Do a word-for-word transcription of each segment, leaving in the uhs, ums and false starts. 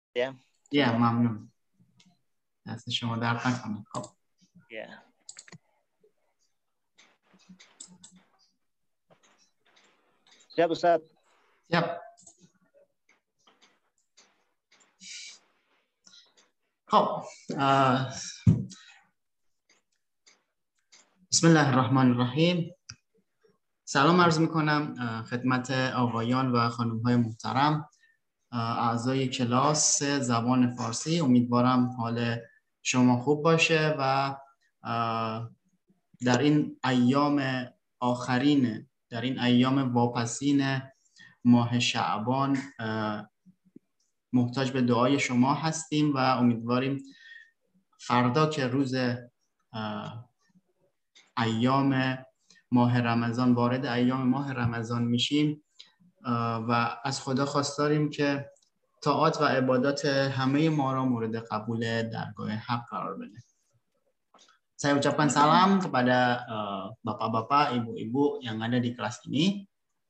Ya. Ya, ممنون. دست شما درد نکنه. خب. Ya. Siap Ustaz. Siap. خب بسم الله الرحمن الرحیم. سلام عرض میکنم خدمت آقایان و خانم های محترم، اعضای کلاس زبان فارسی. امیدوارم حال شما خوب باشه و در این ایام آخرین، در این ایام واپسین ماه شعبان محتاج به دعای شما هستیم و امیدواریم فردا که روز ایام ماه رمضان، وارد ایام ماه رمضان میشیم و از خدا خواستاریم که طاعات و عبادات همه ما را مورد قبول درگاه حق قرار بده. Saya ucapkan salam kepada bapak-bapak, ibu-ibu yang ada di kelas ini.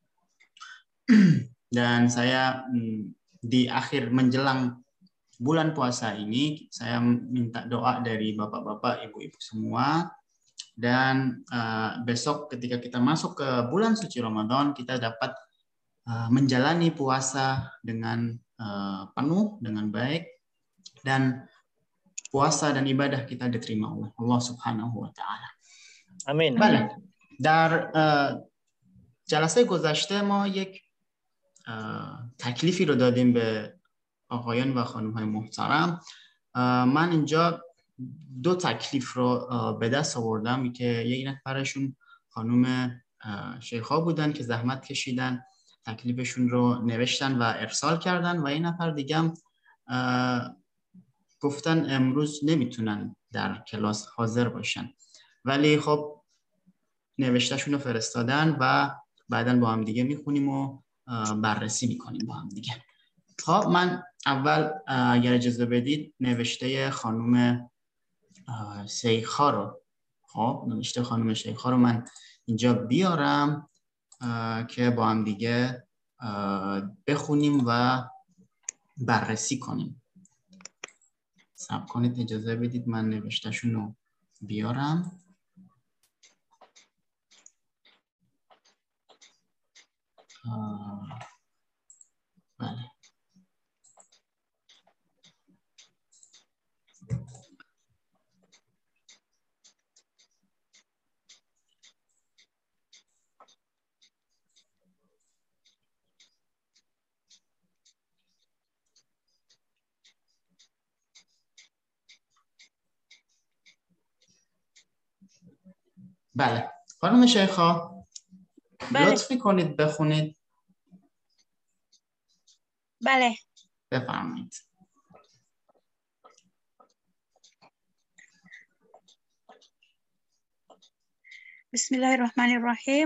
Dan saya di akhir menjelang bulan puasa ini, saya minta doa dari bapak-bapak, ibu-ibu semua. Dan uh, besok ketika kita masuk ke bulan suci Ramadan, kita dapat uh, menjalani puasa dengan uh, penuh, dengan baik. Dan puasa dan ibadah kita diterima oleh Allah Subhanahu wa ta'ala. Amin. بله. در جلسه گذشته ما یک تکلیفی رو دادیم به آقایان و خانم های محترم. من اینجا دو تکلیف رو به دست آوردم که یک نفرشون خانم شیخا بودن که زحمت کشیدن، تکلیفشون رو نوشتن و ارسال کردن و یک نفر دیگه هم گفتن امروز نمیتونن در کلاس حاضر باشن، ولی خب نوشتهشون رو فرستادن و بعداً با هم دیگه میخونیم و بررسی میکنیم با هم دیگه. خب من اول اگر اجازه بدید نوشته خانم شیخا رو خب نوشته خانم شیخا رو من اینجا بیارم که با هم دیگه بخونیم و بررسی کنیم. صبر کنید، اجازه بدید من نوشتهشون رو بیارم. بله. بله. خانم شیخا بله. لطف میکنید بخونید. بله. بفرمایید. بسم الله الرحمن الرحیم.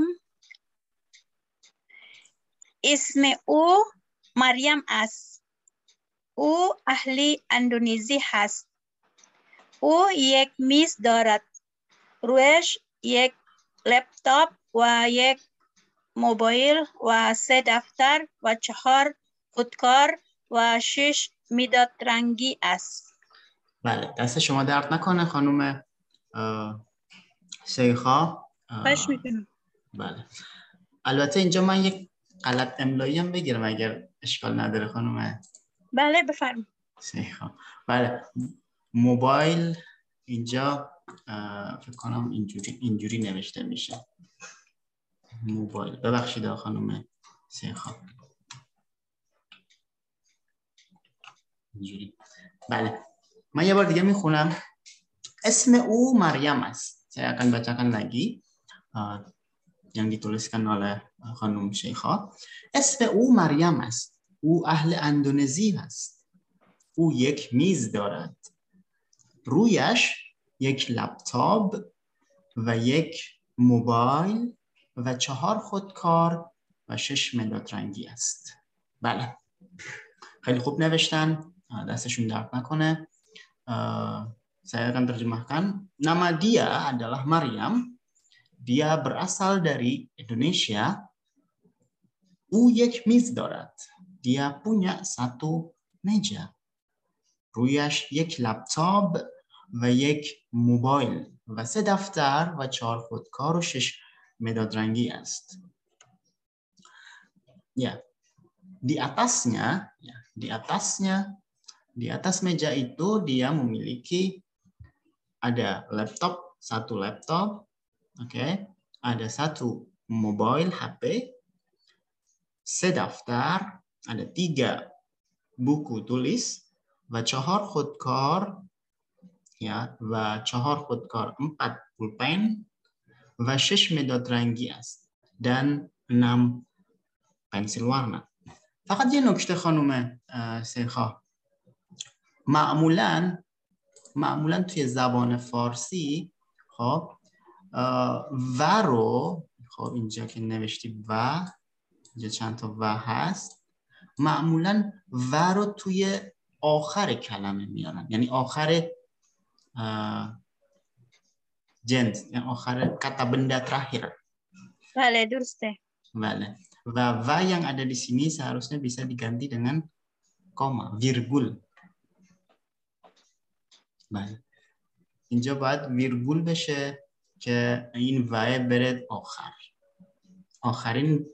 اسم او مریم است. او اهل اندونزی هست. او یک میز دارد. رویش یک لپتاپ و یک موبایل و سه دفتر و چهار خودکار و شش مداد رنگی است. بله، دست شما درد نکنه خانم شیخا. خواهش میکنم. بله. البته اینجا من یک غلط املایی هم بگیرم اگر اشکال نداره خانم. بله بفرمایید. شیخا. بله. موبایل اینجا فکر کنم اینجوری اینجوری نوشته میشه. موبایل. ببخشید خانم شیخا. اینجوری. بله. من یه بار دیگه میخونم. اسم او مریم است. Saya akan bacakan lagi uh, yang dituliskan oleh خانم شیخا. اسم او مریم است. او اهل اندونزی است. او یک میز دارد. رویش یک لپتاپ و یک موبایل و چهار خودکار و شش مداد رنگی است. بله. خیلی خوب نوشتن. دستشون درد نکنه. Saya akan terjemahkan. Nama dia adalah Maryam. Dia berasal dari Indonesia. او یک میز دارد. Dia punya satu meja. رویش یک لپتاپ و یک موبایل و سه دفتر و چهار خودکار و شش مداد رنگی است. Ya, di atasnya, ya, di atasnya, di atas meja itu dia memiliki ada laptop, satu laptop, oke, okay, ada satu mobile H P, sedaftar, ada tiga buku tulis, و چهار خودکار، ya, و چهار خودکار empat pulpen و شش مداد رنگی است dan enam pensil warna. فقط یه نکته خانم سیخا، معمولاً معمولاً توی زبان فارسی خب و رو، خب اینجا که نوشتی و، اینجا چند تا و هست، معمولاً و رو توی آخر کلمه میارن، یعنی آخر جنس، یعنی آخر kata benda terakhir. Vale, durste. Vale. و و yang ada di sini seharusnya bisa diganti dengan koma, virgul. بله. اینجا باید ویرگول بشه که این و بره آخر. آخرین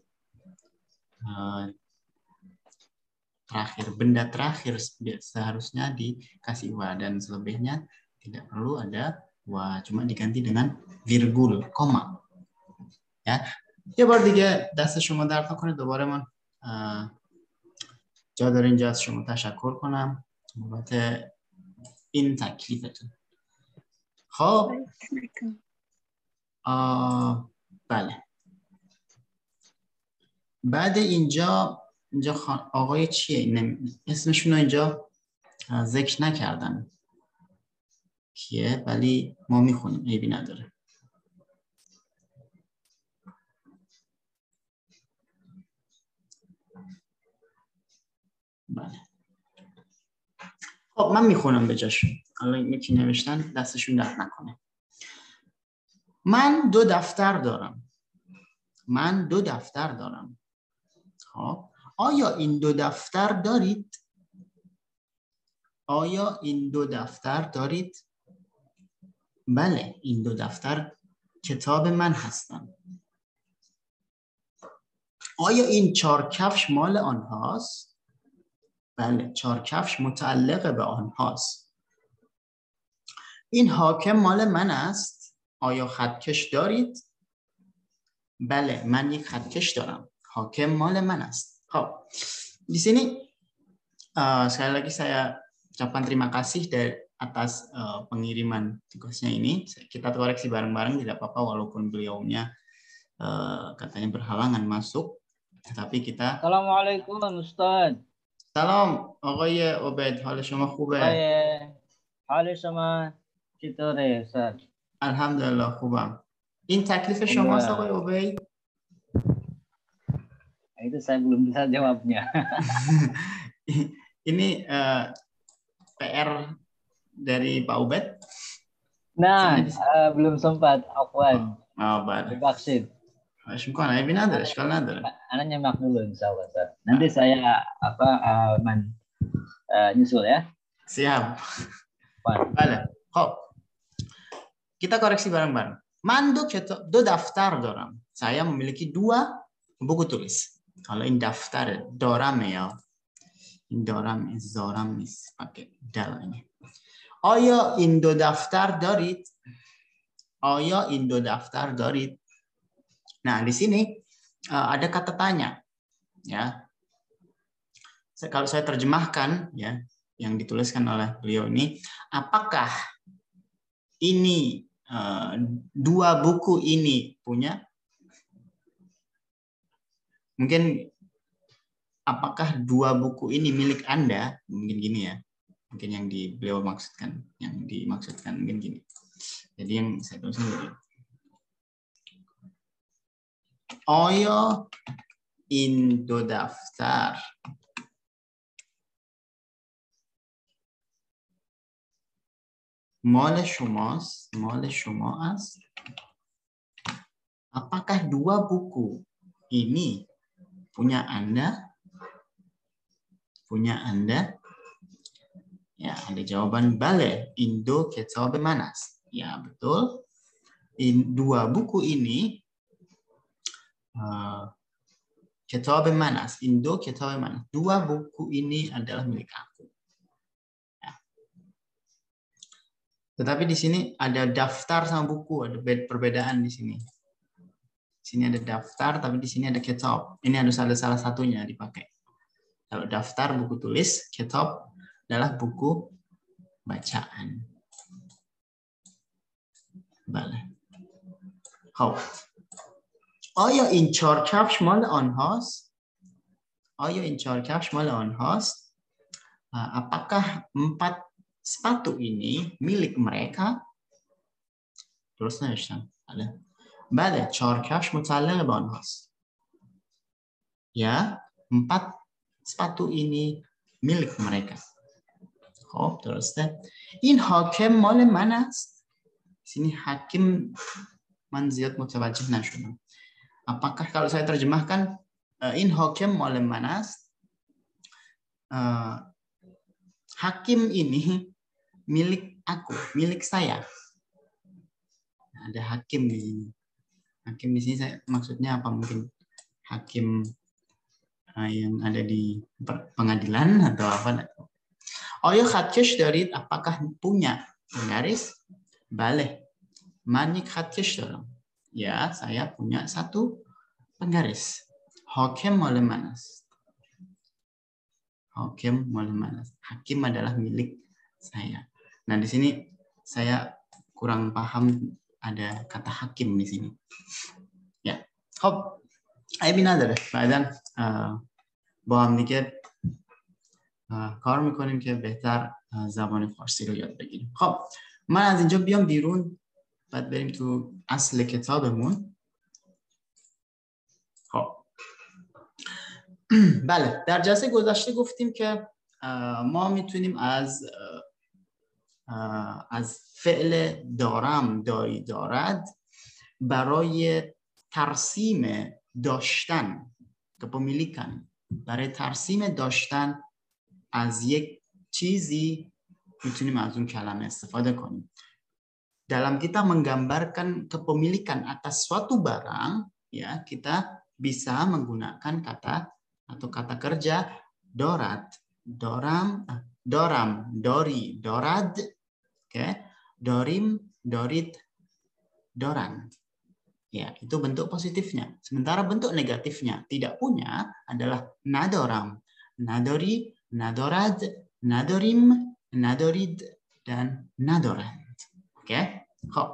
terakhir, benda terakhir seharusnya dikasih wa, dan selebihnya tidak perlu ada wa, cuma diganti dengan virgul, koma. Ya. یه بار دیگه دست شما درد نکنه، دوباره من جا داره اینجا از شما تشکر کنم بابت این تکلیفتون. خب بله، بعد اینجا اینجا آقای چیه؟ اسمشون رو اینجا ذکر نکردن کیه، ولی ما میخونیم، عیبی نداره. بله. خب من میخونم به جاشون، حالا یکی نوشتن دستشون درد نکنه. من دو دفتر دارم. من دو دفتر دارم. خب آیا این دو دفتر دارید؟ آیا این دو دفتر دارید؟ بله، این دو دفتر کتاب من هستند. آیا این چهار کفش مال آنهاست؟ بله، چهار کفش متعلق به آنهاست. این حاکم مال من است. آیا خطکش دارید؟ بله، من یک خطکش دارم. حاکم مال man است. Oh, di sini uh, sekali lagi saya ucapkan terima kasih dari atas uh, pengiriman tugasnya ini. Kita koreksi bareng-bareng, tidak apa-apa walaupun beliaunya uh, katanya berhalangan masuk. Tetapi kita. Assalamualaikum Ustaz. Salam آقای عبید، حال شما خوبه؟ حال شما چطوره استاد؟ الحمدلله خوبم. این تکلیف شماست آقای عبید؟ Itu saya belum bisa jawabnya. Ini uh, P R dari Pak Ubed? Nah, uh, belum sempat. Afwan. Oh, baik. Divaksin. Syukran, Ibn Nader, sekali Nader. Ana nyemak dulu insya Allah. Ustaz. Nanti saya apa uh, man, uh, nyusul ya. Siap. Baik. Kok. Kita koreksi bareng-bareng. Mandu keto do daftar doram. Saya memiliki dua buku tulis. Kalau ini daftar doram ya. Ini doram is zoram is pakai dal ini. Oya indo daftar darit. Oya indo daftar darit. Nah, di sini uh, ada kata tanya, ya. Kalau saya terjemahkan, ya, yang dituliskan oleh beliau ini, apakah ini uh, dua buku ini punya? Mungkin apakah dua buku ini milik Anda? Mungkin gini ya. Mungkin yang di beliau maksudkan, yang dimaksudkan mungkin gini. Jadi yang saya tulis ini. آیا این دو دفتر مال شماست؟ مال شما است؟ Apakah dua buku ini punya Anda? Punya Anda? Ya, ada jawaban bale. Indo Kitab Manas. Ya, betul. In, dua buku ini uh, Kitab Manas, Indo Kitab Manas. Dua buku ini adalah milik aku. Ya. Tetapi di sini ada daftar sama buku, ada perbedaan di sini. Di sini ada daftar, tapi di sini ada kitab. Ini harus ada salah satunya dipakai. Kalau daftar buku tulis, kitab adalah buku bacaan. Bale. Hopp. آیا این چهار کفش مال آنهاست؟ آیا این چهار کفش مال آنهاست؟ Apakah empat sepatu ini milik mereka? درست نوشتم. بله. بله، چهار کفش متعلق به آنهاست. Ya, empat sepatu ini milik mereka. خب درسته. این حاکم مال من است. sini hakim man ziyad mutawajjih nashudam. Apakah kalau saya terjemahkan in hakim mal manas, uh, hakim ini milik aku, milik saya. Nah, ada hakim di sini. Hakim di sini saya maksudnya apa, mungkin hakim uh, yang ada di pengadilan atau apa? Oyo khatkesh darid, apakah punya penggaris? Bale. Manik khatkesh dalam. Ya, saya punya satu penggaris. Hakim male manas. Hakim male manas. Hakim adalah milik saya. Nah, di sini saya kurang paham ada kata hakim di sini. Ya. Hop. Ay binadare. بعداً با هم دیگه کار میکنیم که بهتر زبان فارسی رو یاد بگیریم. خب من از اینجا بیام بیرون، بعد بریم تو اصل کتابمون. خب بله، در جلسه گذشته گفتیم که ما میتونیم از از فعل دارم، داری، دارد برای ترسیم داشتن، kepemilikan، برای ترسیم داشتن از یک چیزی میتونیم از اون کلمه استفاده کنیم. Dalam kita menggambarkan kepemilikan atas suatu barang, ya, kita bisa menggunakan kata atau kata kerja dorat, doram, doram, dori, dorad, okay, dorim, dorit, doran. Ya, itu bentuk positifnya. Sementara bentuk negatifnya tidak punya adalah nadoram, nadori, nadorad, nadorim, nadorid, dan nadorand. اوکی. خب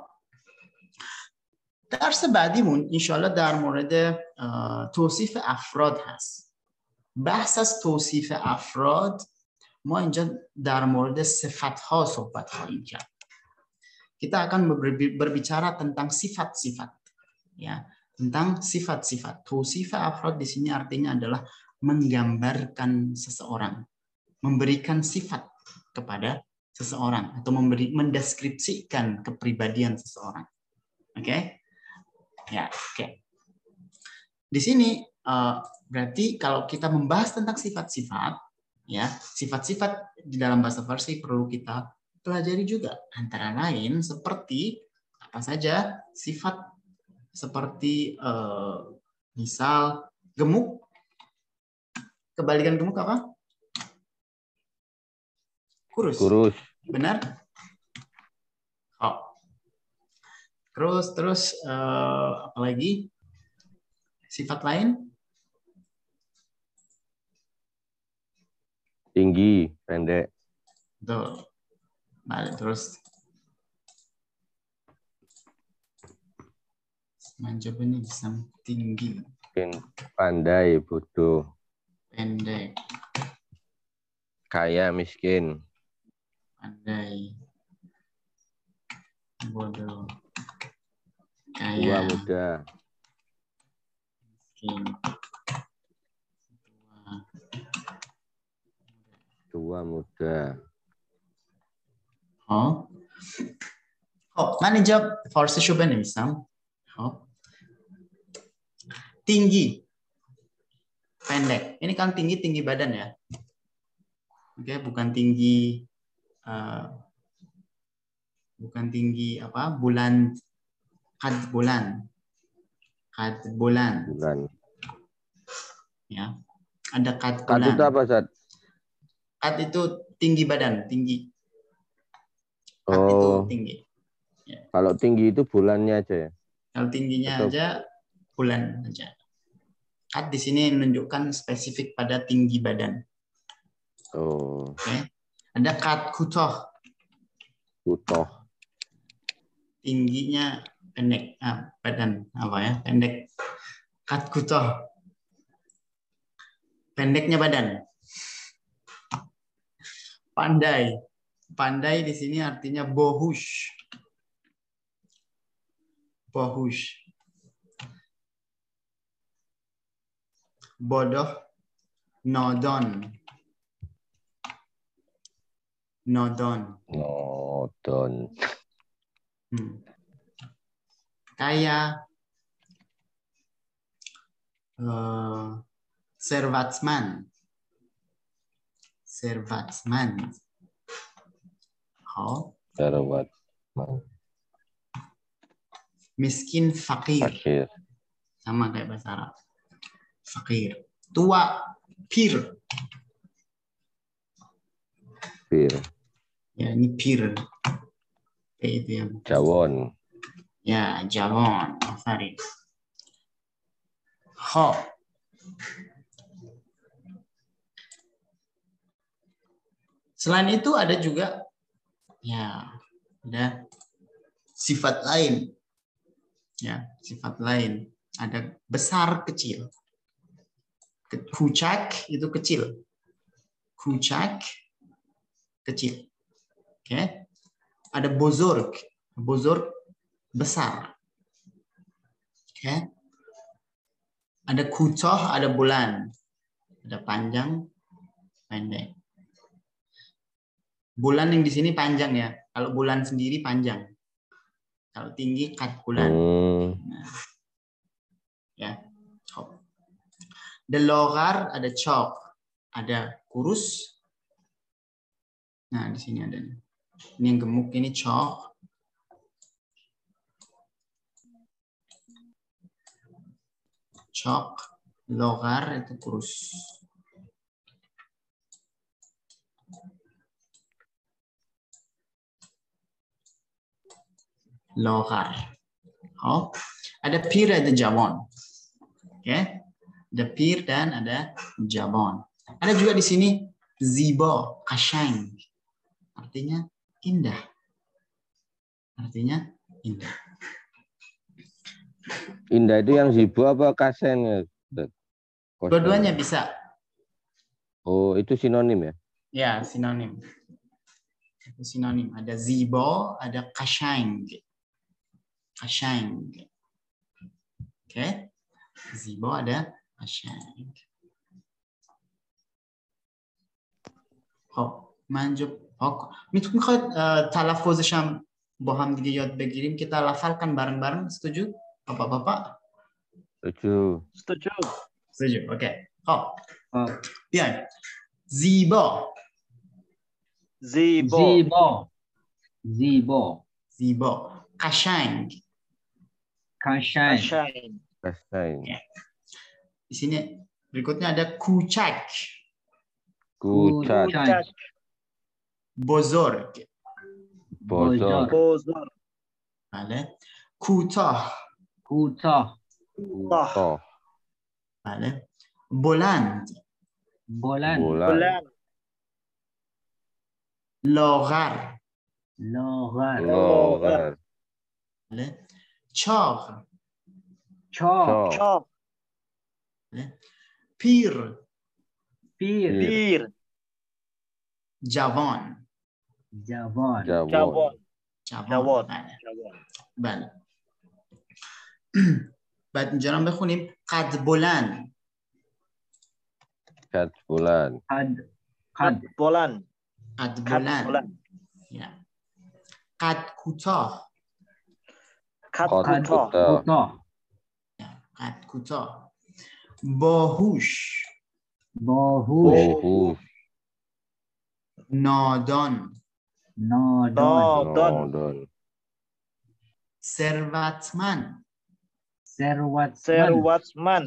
درس بعدیمون انشالله در مورد توصیف افراد هست. بحث از توصیف افراد ما اینجا در مورد صفت‌ها صحبت خواهیم کرد. Kita akan berbicara tentang sifat-sifat, ya, tentang sifat-sifat. Tausif afrod di sini artinya adalah menggambarkan seseorang, memberikan sifat kepada seseorang atau memberi mendeskripsikan kepribadian seseorang. Oke? Okay? Ya, oke. Okay. Di sini uh, berarti kalau kita membahas tentang sifat-sifat, ya, sifat-sifat di dalam bahasa Farsi perlu kita pelajari juga. Antara lain seperti apa saja sifat seperti uh, misal gemuk. Kebalikan gemuk apa? Kurus. Kurus. Benar? Oh. Terus terus uh, apa lagi? Sifat lain? Tinggi, pendek. Betul. Balik terus. Manjab ini bisa tinggi. Mungkin pandai, bodoh. Pendek. Kaya, miskin. Pandai, bodoh, kaya, Tua, muda. miskin, tua, Tua, muda. Oh, oh, mana jawab Farsi coba nih misal. Oh, tinggi, pendek. Ini kan tinggi tinggi badan ya. Oke, bukan tinggi uh, bukan tinggi apa bulan, kad bulan, kad bulan, Bulan. ya. Ada kad Kad bulan. itu apa, Ustaz? Kad itu tinggi badan, tinggi. Kad Oh, itu tinggi. kalau tinggi itu bulannya aja ya? Kalau tingginya Atau- aja bulan aja. Kad di sini menunjukkan spesifik pada tinggi badan. Oh, Oke. Ada kad kutoh, utuh. tingginya pendek, ah, badan apa ya, pendek. Kad kutoh, pendeknya badan. Pandai, pandai di sini artinya bohush, bohush. Bodoh, nodon, nodon. Nodon. Hmm. Kaya, uh, servatsman, servatsman. Oh, Darawat. miskin, fakir, Fakir. sama kayak bahasa Arab. Fakir. Tua, pir. Pir. Ya, ini pir. Kayak itu ya. Jawon. Ya, jawon. Farid. Ho. Selain itu ada juga ya, ada sifat lain. Ya, sifat lain. Ada besar, kecil. Kucak itu kecil. Kucak kecil. Oke. Okay. Ada bozorg. Bozorg besar. Oke. Okay. Ada kutoh, ada bulan. Ada panjang, pendek. Bulan yang di sini panjang ya. Kalau bulan sendiri panjang. Kalau tinggi kat bulan. Hmm. Nah. Ya. The logar ada chalk, ada kurus. Nah, di sini ada. Ini yang gemuk ini chalk. Chalk, logar itu kurus. Logar. Oh, ada pir, ada jawon. Oke. Okay. Ada pir dan ada jabon. Ada juga di sini zibo, kasyang. Artinya indah. Artinya indah. Indah itu yang zibo apa kasen? Dua-duanya bisa. Oh, itu sinonim ya? Ya, sinonim. Itu sinonim. Ada zibo, ada kasyang. Kasyang. Oke. Okay. Zibo ada kasyang. خب من جو میتونیم خواهد تلفظش هم با هم دیگه یاد بگیریم که تلفظ کن bareng-bareng. Setuju Bapak-bapak? Setuju. Setuju. Setuju. Oke. Okay. خب بیایم. زیبا. Zibo. Zibo. Zibo. زیبا. قشنگ. Kashang. Kasyang. Kasain. Di sini berikutnya ada kucak. Kucat. Kucak. بزرگ. Bozor. Bozor. بله. کوتاه. Kutoh. Toh. بله. بلند. Bolan. Bulan. Bulan. لاغر. Logar. Logar. بله. چاق. Chok. Chok. Chok. بله. پیر. Pir. Bir. جوان. Javon. Jawon. Jawon. جوان. Jawon. بله. Jawon. بله. بعد اینجا هم بخونیم قد بلند. Kat bulan. Kad. Kad Kad. bulan. قد Kad بلند. bulan. Ya. قد کوتاه. Kad Kad Kad. kutoh. kutoh. Kutoh. Ya. قد کوتاه. باهوش. Bohush. Bohus. نادان. Nodon. Nodon. Nodon. Servatman. Serwatman. Serwatsman.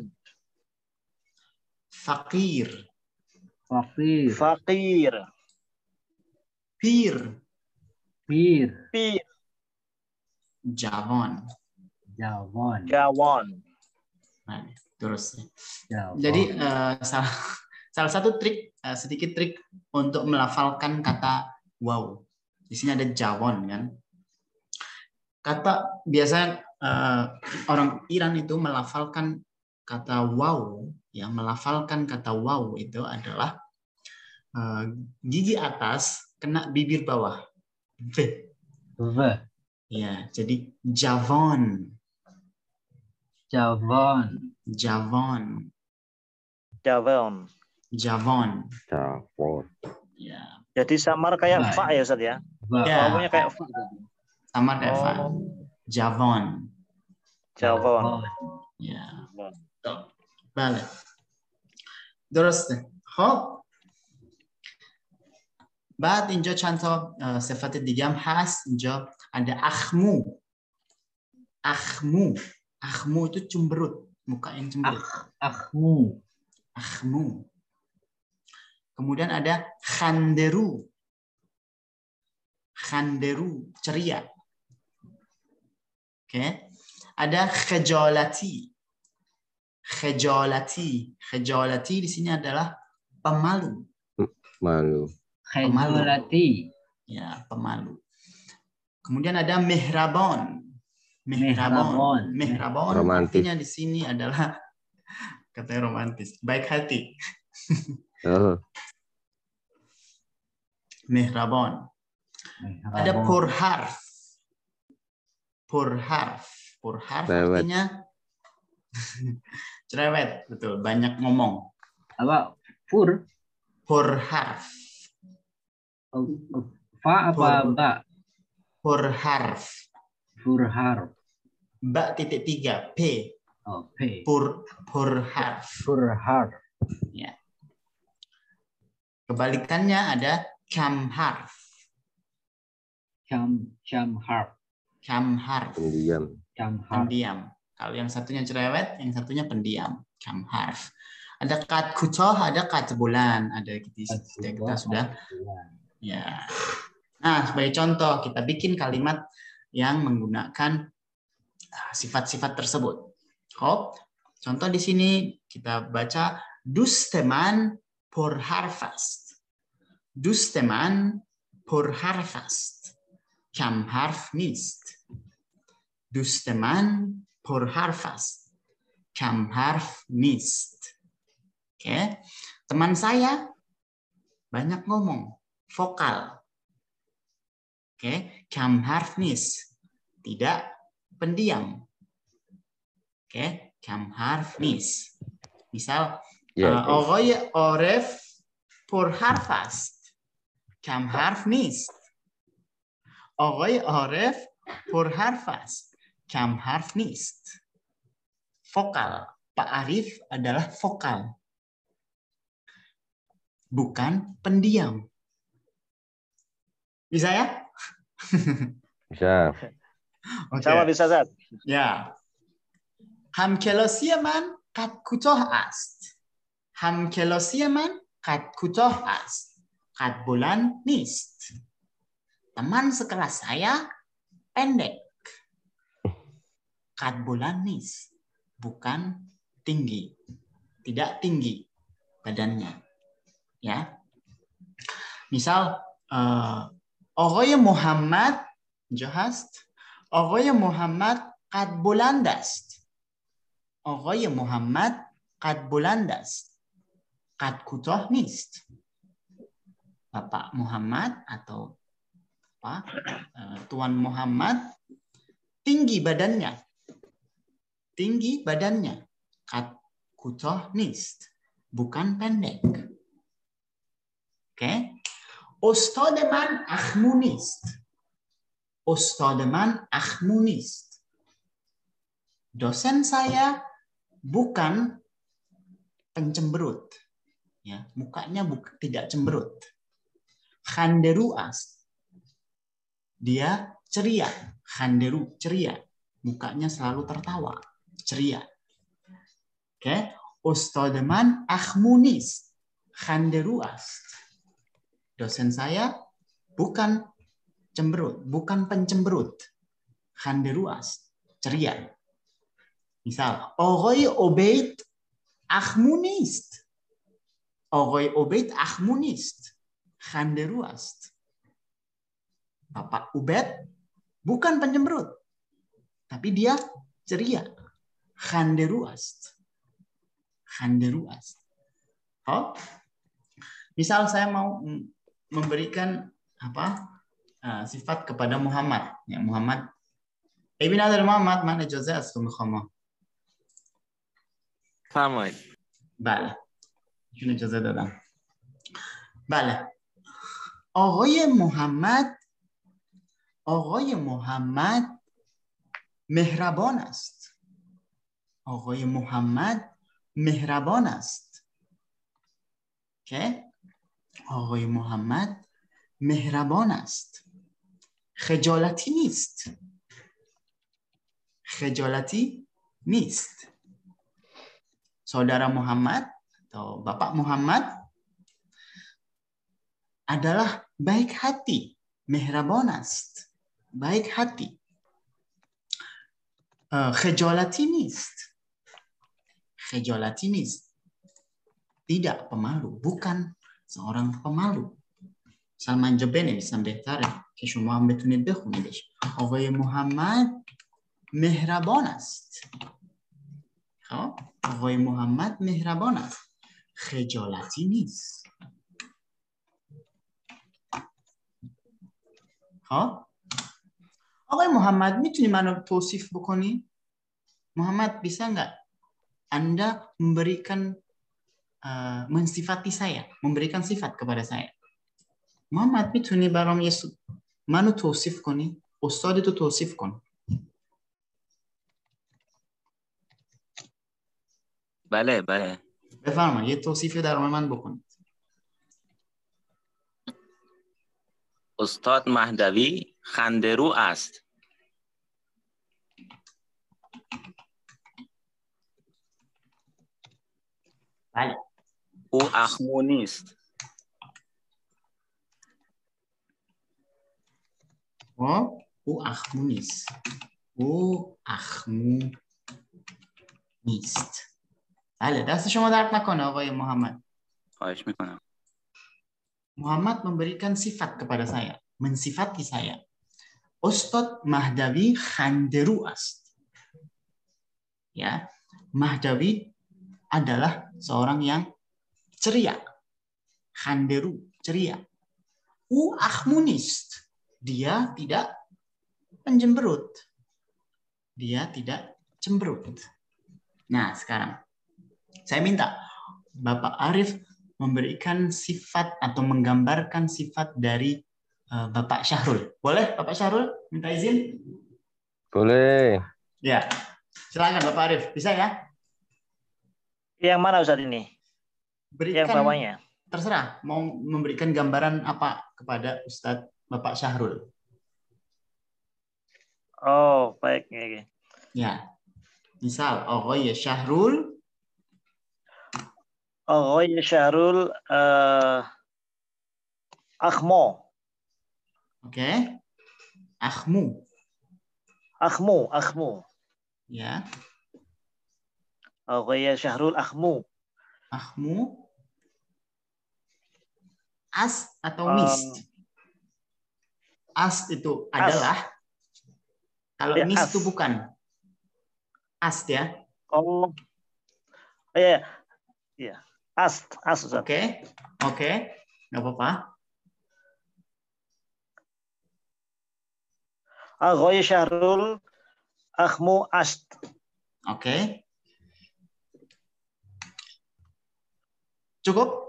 Fakir. Fakir. Fakir. Pir. Pir. Pir. Javon. Jawon. Jawon. Nah, terus. Jawon. Jadi eh, salah, salah satu trik, eh, sedikit trik untuk melafalkan kata wow. Di sini ada Jawon kan. Kata biasanya eh, orang Iran itu melafalkan kata wow, ya melafalkan kata wow itu adalah eh, gigi atas kena bibir bawah. V. V. Ya, jadi Javon. Javon. Javon. Javon. Javon. Javon. Ya, Jadi samar kayak Baik. fa ya Ustaz ya. Va. Ya. Wawunya kayak fa. sama kayak Fa. Oh, Javon. Javon. Ya. Tuh. Balik. درسته. خب بعد اینجا چند تا اه، صفت دیگه هم هست. اینجا ada akhmu. Akhmu. Akhmu itu cemberut, muka yang cemberut. Akhmu. Akhmu. Kemudian ada khanderu. Khanderu, ceria. Oke. Ada khajalati. Khajalati. Khajalati di sini adalah pemalu. Malu. Khajalati. Ya, pemalu. Kemudian ada mihrabon. Mihrabon. Mihrabon. Mihrabon Romantis. artinya di sini adalah katanya romantis, baik hati. Oh, Mihrabon. Ada purharf. Purharf. Purharf Cerewet. artinya cerewet, betul, banyak ngomong. Apa? Fur. Purharf. Oh, oh. Fa apa Fur. ba? Purharf. Furhar. Ba titik tiga. P. Oh, P. Pur. Purharf. Furhar. Ya. Kebalikannya ada kamharf. Cam camhar. Kamharf. pendiam. Camhar. Pendiam. Kalau yang satunya cerewet, yang satunya pendiam. Kamharf. Ada kat kutoh, ada kat bulan. Ada kita, kita sudah. Ya. Nah, sebagai contoh, kita bikin kalimat yang menggunakan sifat-sifat tersebut. Oh, contoh di sini kita baca dusteman por harfast. Dusteman por harfast. Kam harf nist. Dusteman por harfast. Kam harf nist. Oke, teman saya banyak ngomong, vokal. Oke, kam harf nis, tidak pendiam. Oke, kam harf nis. Misal, Ya, Ogoy oref por harfast. Kam harf nis. Ogoy oref por harfast. Kam harf nis. Vokal. Pak Arif adalah vokal. Bukan pendiam. Bisa ya? bisa. Oke. Sama bisa Ustaz. Ya. همکلاسی من قد کوتاه است. همکلاسی من قد کوتاه است. قد bulan نیست. Teman sekelas saya pendek. Qad bulan nis. Bukan tinggi. Tidak tinggi badannya. Ya. Misal uh, آقای محمد اینجا هست. آقای محمد قد بلند است. آقای محمد قد بلند است. قد کوتاه نیست. Bapak Muhammad atau apa? Tuan Muhammad tinggi badannya. Tinggi badannya. Qad kutoh nist. Bukan pendek. Oke. Okay. Ustad man akhmu nist. Ustad man akhmu nist. Dosen saya bukan pencemberut. Ya, mukanya bukan tidak cemberut. Khanderu ast. Dia ceria. Khanderu, ceria. Mukanya selalu tertawa. Ceria. Oke. Okay. Ustademan akhmunis. Khanderu ast. Dosen saya bukan cemberut, bukan pencemberut. Khanderu ast. Ceria. Misal, Ogoy Obeid akhmunist. Ogoy Obeid akhmunist. Khanderu ast. Bapak Ubed bukan pencemberut, tapi dia ceria. Khanderu ast. Khanderu ast. Oh, misal saya mau memberikan apa uh, sifat kepada Muhammad. Ya, Muhammad. Ibn Adar Muhammad mana Jose asum khama. Faham. بله. ایشون اجازه دادم. بله. آقای محمد آقای محمد مهربان است. آقای محمد مهربان است. که آقای محمد مهربان است. خجالتی نیست. خجالتی نیست. Saudara Muhammad atau Bapak Muhammad adalah baik hati, mehrabanast, baik hati. Khejolati nist. Khejolati nist. Tidak pemalu, bukan seorang pemalu. Salman Jabbar نویسم بهتره که شما هم بتونید بخونیدش. آقای محمد مهربان است. خب آقای محمد مهربان است. خجالتی نیست. خب آقای محمد میتونی منو توصیف بکنی؟ محمد bisa nggak Anda memberikan uh, mensifati saya, memberikan sifat kepada saya. محمد میتونی برام یه منو توصیف کنی؟ استادتو توصیف کن. بله بله. بفرمایید یه توصیفی در مورد من بکنید. استاد مهدوی خنده‌رو است. بله. او اخمو نیست. او اخمو نیست. او اخمو نیست. بله دست شما درد نکنه آقای محمد. خواهش میکنم. Muhammad memberikan sifat kepada saya, mensifati saya. Ustadz Mahdawi khanderu ast. Ya, Mahdawi adalah seorang yang ceria. Khanderu, ceria. U akhmunist. Dia tidak penjemberut. Dia tidak cemberut. Nah, sekarang saya minta Bapak Arif memberikan sifat atau menggambarkan sifat dari uh, Bapak Syahrul. Boleh Bapak Syahrul minta izin? Boleh. Ya, silakan Bapak Arif. Bisa ya? Yang mana Ustaz ini? Berikan, yang bawahnya. Terserah. Mau memberikan gambaran apa kepada Ustadz Bapak Syahrul? Oh, baik. Ya. Ya. Misal, Ogoy Syahrul. Ogoy Syahrul uh, Akhmo. Oke. Okay. Akhmu. Akhmu, Akhmu. Ya. Ogoy Syahrul Akhmu. Akhmu. As atau nist? Um, as itu as. Adalah. Kalau ya, nist as. Itu bukan. As ya. Oh. Iya. Iya. As, as. Oke. Oke. Oke. Enggak apa-apa. Aghoy Syahrul Akhmu Ast. Oke. Okay. Cukup?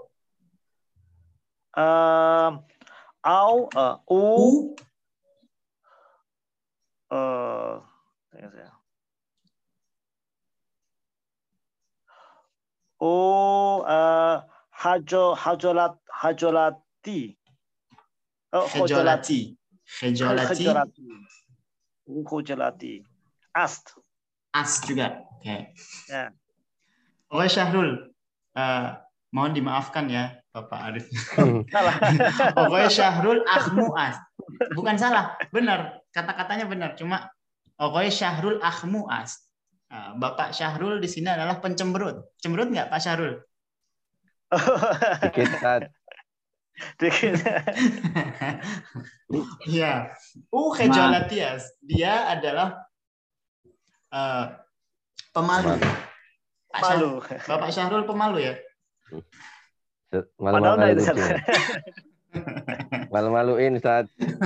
Uh, au uh, u uh, u uh, hajo hajolat hajolati oh, hajolati Khejolati. Khejolati. U khejolati. Ast. As juga. Oke. Okay. Ya. Oke Syahrul. Uh, mohon dimaafkan ya Bapak Arif. Salah. Oke Syahrul akhmu as. Bukan salah, benar. Kata-katanya benar. Cuma oke Syahrul akhmu as. Uh, Bapak Syahrul di sini adalah pencemberut. Cemberut nggak Pak Syahrul? Dikit, Ustaz. Dikit. Iya. Uh khejolatias. Dia adalah uh, pemalu. Pak Malu. Syahrul, Bapak Syahrul pemalu ya? Malu-malu kucing. Malu-maluin, Ustaz.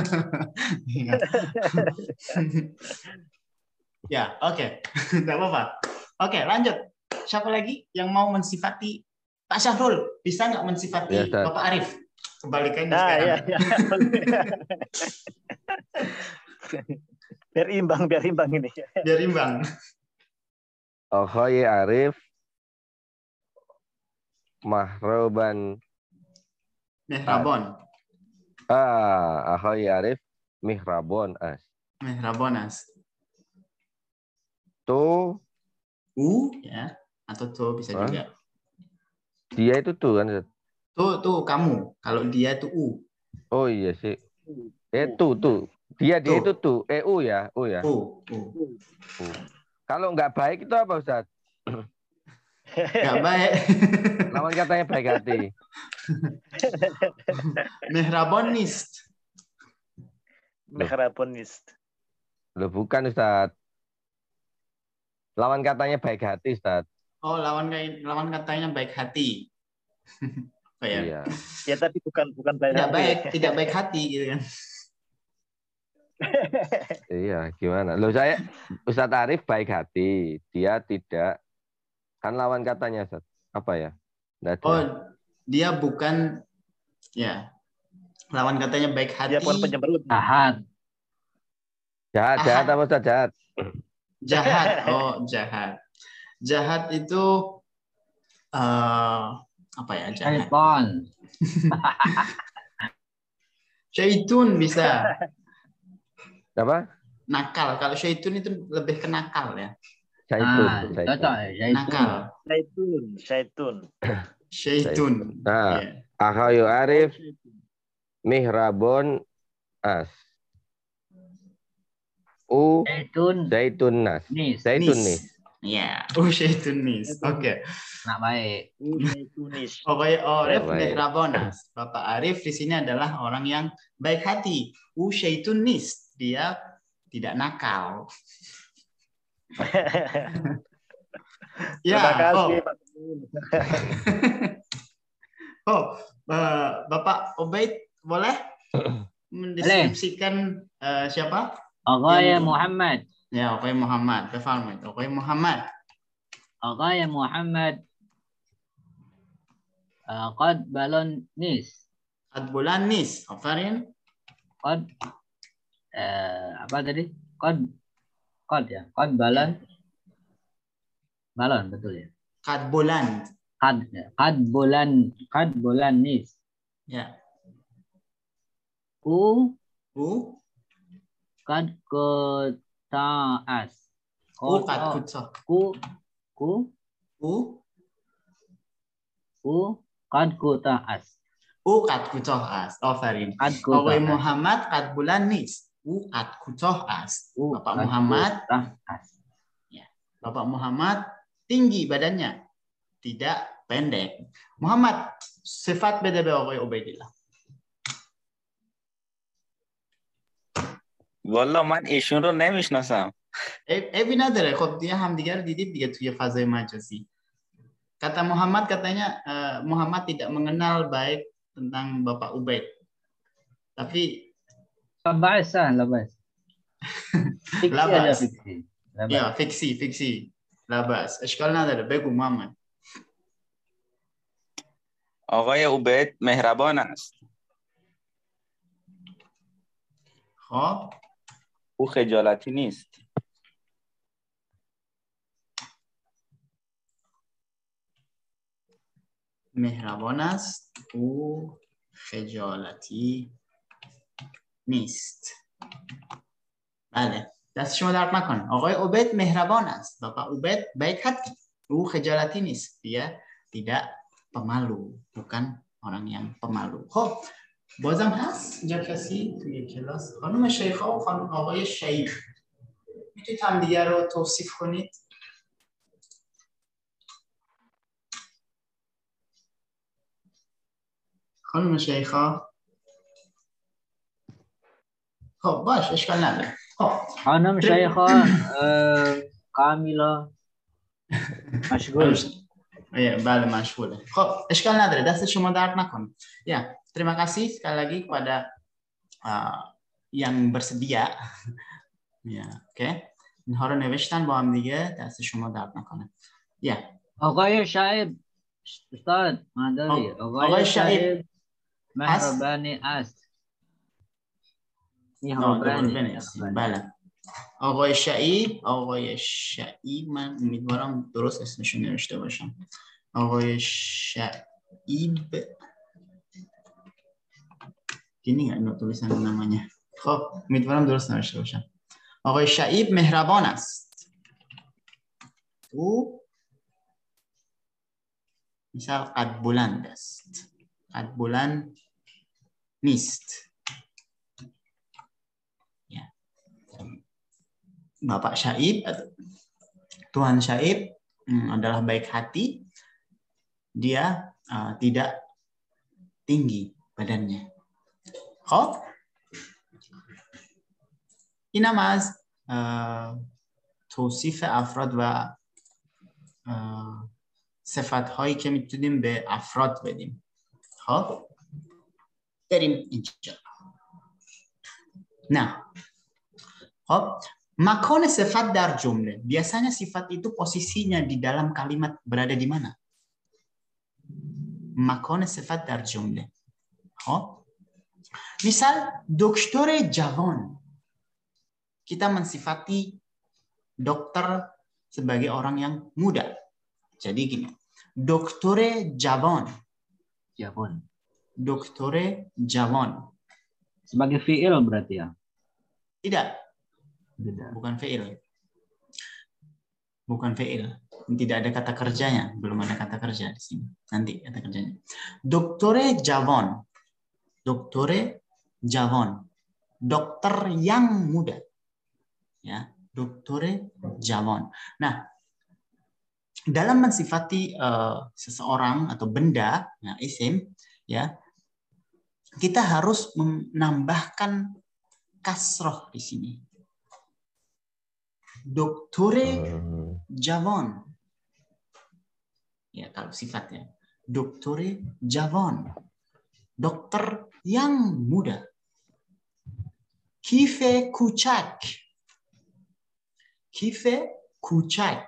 Ya, oke. Okay. Enggak apa-apa. Oke, okay, lanjut. Siapa lagi yang mau mensifati Pak Syahrul? Bisa nggak mensifati ya, Bapak Arif? Kebalikannya nah, sekarang. Ya, ya. Biar imbang, biar imbang ini. Biar imbang. Akhoy Arif Mahroban Mihrabon. Ah, akhoy Arif Mihrabon as. Mihrabon as. Tu u ya atau tu bisa ah? Juga. Dia itu tuh kan. Tuh tuh kamu. Kalau dia itu u. Oh iya sih. Eh tuh tuh. Dia dia itu tuh. Eh u ya, u ya. U. U. U. Kalau nggak baik itu apa Ustaz? Nggak baik. Lawan katanya baik hati. Mihrabonist. Mihrabonist. Loh bukan Ustaz. Lawan katanya baik hati Ustaz. Oh lawan lawan katanya baik hati. Oh, ya. Iya. Ya tapi bukan bukan baik tidak hati. baik tidak baik hati gitu kan. Iya, gimana? Loh saya Ustadz Arif baik hati, dia tidak. Kan lawan katanya, Ustaz. Apa ya? Oh, dia bukan ya. Lawan katanya baik hati. Dia bukan pencemberut. Jahat. Jahat, jahat apa Ustaz? Jahat. Jahat. Oh, jahat. Jahat itu uh, apa ya? Jahat. Syaitan. Syaitun bisa. Apa? Nakal. Kalau syaitun itu lebih ke nakal ya. Syaitun. Ah, syaitun. Nakal. Syaitun. Syaitun. Syaitun. Nah, yeah. Akhayu Arif Mihrabon as. U Syaitun. Syaitun nas. Nis. Syaitun nis. Ya. U syaitun nis. Oke. Okay. Nak baik. U syaitun nis. Oke, Arif Mihrabon as. Bapak Arif di sini adalah orang yang baik hati. U syaitun nis. Dia tidak nakal. Ya, terima kasih, oh. Pak. Oh, uh, Bapak Obaid boleh mendeskripsikan uh, siapa? Oke Muhammad. Ya, oke Muhammad. Befalmet. Oke Muhammad. Oke Muhammad. Uh, qad balon nis. Qad bulan nis. Afarin. Qad uh, apa tadi? Qad qad ya. Qad balon. Balon betul ya. Qad bulan. Qad ya. Qad bulan. Qad bulan nis. Ya. U U qad kutaas. U qad kutah. Ku ku U U qad kutaas. U qad kutah as. Afarin. Oke Muhammad qad bulan nis. U qad kutah as. Bapak Muhammad as. Ya. Bapak Muhammad tinggi badannya, tidak pendek. Muhammad sifat beda beda oleh Ubaidillah. والله من ایشون رو نمیشناسم. ابی نداره خب دیگه همدیگه رو دیدید دیگه توی فضای مجازی. Kata Muhammad katanya uh, Muhammad tidak mengenal baik tentang Bapak Ubaid. Tapi labas ah, labas. Fiksi labas. Aja, fiksi. Labas. Ya, fiksi, fiksi. Labas. اشکال نداره بگو محمد. آقای عبید مهربان است. خب او خجالتی نیست. مهربان است او خجالتی نیست. بله دست شما درد نکنه. آقای عبید مهربان است. Bapak Ubed baik hati. او خجالتی نیست. Dia tidak pemalu, bukan orang yang pemalu. خب بازم هست اینجا کسی توی کلاس؟ خانم شیخا و خانم آقای شیخ میتونید هم دیگه رو توصیف کنید؟ خانم شیخا. خب باش اشکال نداره. خب خانم شیخا کامیلا مشغول. بله مشغوله. خب اشکال نداره دست شما درد نکنه. Ya terima kasih sekali lagi kepada uh, yang bersedia. Ya oke. Okay. اینها رو نوشتن با هم دیگه دست شما درد نکنه. یا آقای شعیب استاد مادری آقای شعیب مهربانی است. مهربانی بله. آقای شعیب آقای شعیب من امیدوارم درست اسمشون نوشته باشم. آقای شعیب gini nggak no tulisan namanya. خب امیدوارم درست نوشته باشم. آقای شعیب مهربان است. او misal قد بلند است. قد بلند نیست. Ya. Bapak Syaib, Tuan Syaib hmm, adalah baik hati. Dia uh, tidak tinggi badannya. خب اینم از توصیف افراد و صفت هایی که میتونیم به افراد بدیم. خب بریم اینجا. نه خب مکان صفت در جمله. Biasanya sifat itu posisinya di dalam kalimat berada di mana? مکان صفت در جمله. خب misal dokter جوان, kita mensifati dokter sebagai orang yang muda. Jadi gini, dokter جوان, جوان, dokter جوان. Sebagai fi'il berarti ya? Tidak. Tidak. Bukan fi'il. Bukan fi'il. Tidak ada kata kerjanya, belum ada kata kerja di sini. Nanti kata kerjanya. Dokter جوان. Dokter جوان. Dokter yang muda. Ya, dokter جوان. Nah, dalam mensifati uh, seseorang atau benda, ya, isim, ya, kita harus menambahkan kasroh di sini. Dokter جوان. Ya, kalau sifatnya. Dokter جوان. Dokter yang muda. Kife kucak. Kife kucak.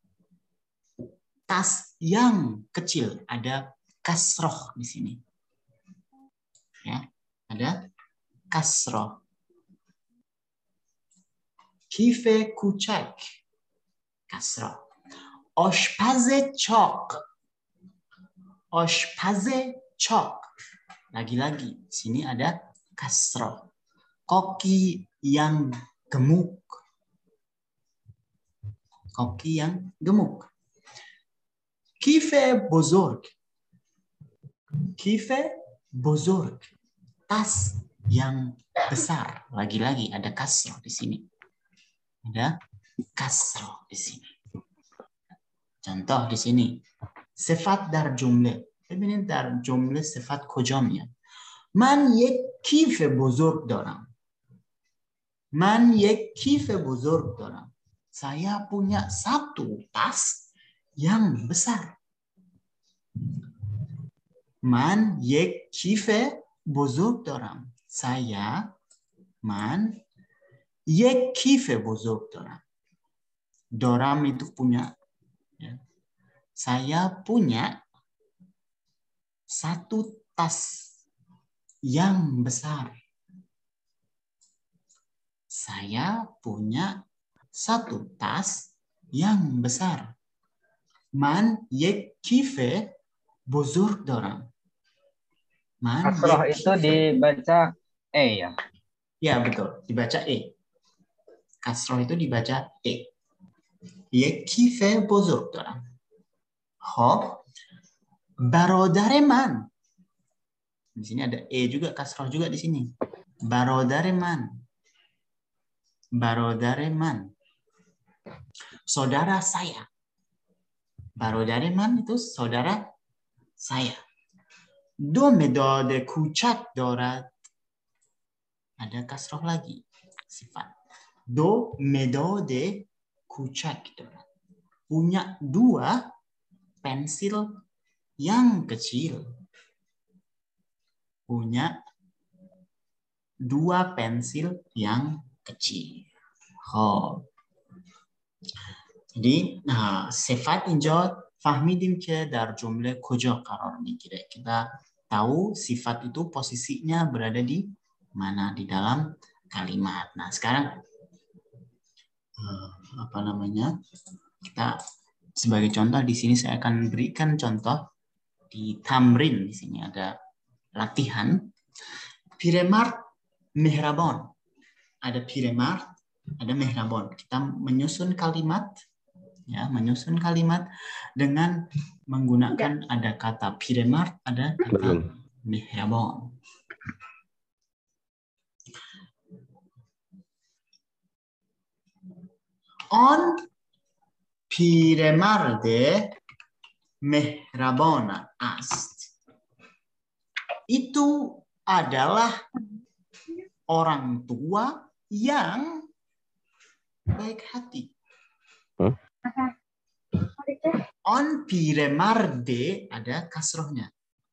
Tas yang kecil. Ada kasroh di sini. Ya, ada kasroh. Kife kucak. Kasroh. Oshpaze chok. Oshpaze chok. Lagi-lagi, sini ada kasroh. Koki yang gemuk. Koki yang gemuk. Kife bozorg. Kife bozorg. Tas yang besar. Lagi-lagi ada kasroh di sini. Ada kasroh di sini. Contoh di sini. Sifat dar jumle. ببینید در جمله صفت کجا میاد. من یک کیف بزرگ دارم. من یک کیف بزرگ دارم. Saya punya satu tas yang besar. من یک کیف بزرگ دارم. Saya من یک کیف بزرگ دارم. دارم itu punya. Ya. Saya punya satu tas yang besar. Saya punya satu tas yang besar. Man yek kife bozorg daram. Man kasroh itu dibaca e ya? Ya, betul. Dibaca E. Kasroh itu dibaca E. یک کیف بزرگ دارم. خب برادر من. Di sini ada E juga, kasroh juga di sini. Barodare man. Barodare man. Saudara saya. Barodare man itu saudara saya. Do medad kucak dorad. Ada kasroh lagi. Sifat. Do medad kucak dorad. Punya dua pensil yang kecil. Punya dua pensil yang kecil. خب. jadi nah, صفت اینجا فهمیدیم که در جمله کجا قرار میگیره. kita tahu sifat itu posisinya berada di mana di dalam kalimat. Nah, sekarang apa namanya? Kita sebagai contoh di sini saya akan berikan contoh di tamrin. Di sini ada latihan. Piremard mehrabon. Ada piremard, ada mehrabon. Kita menyusun kalimat, ya, menyusun kalimat dengan menggunakan ada kata piremard, ada kata mehrabon. On piremarde mehrabon ast. Itu adalah orang tua yang baik hati. Huh? On piremarde ada kasrohnya.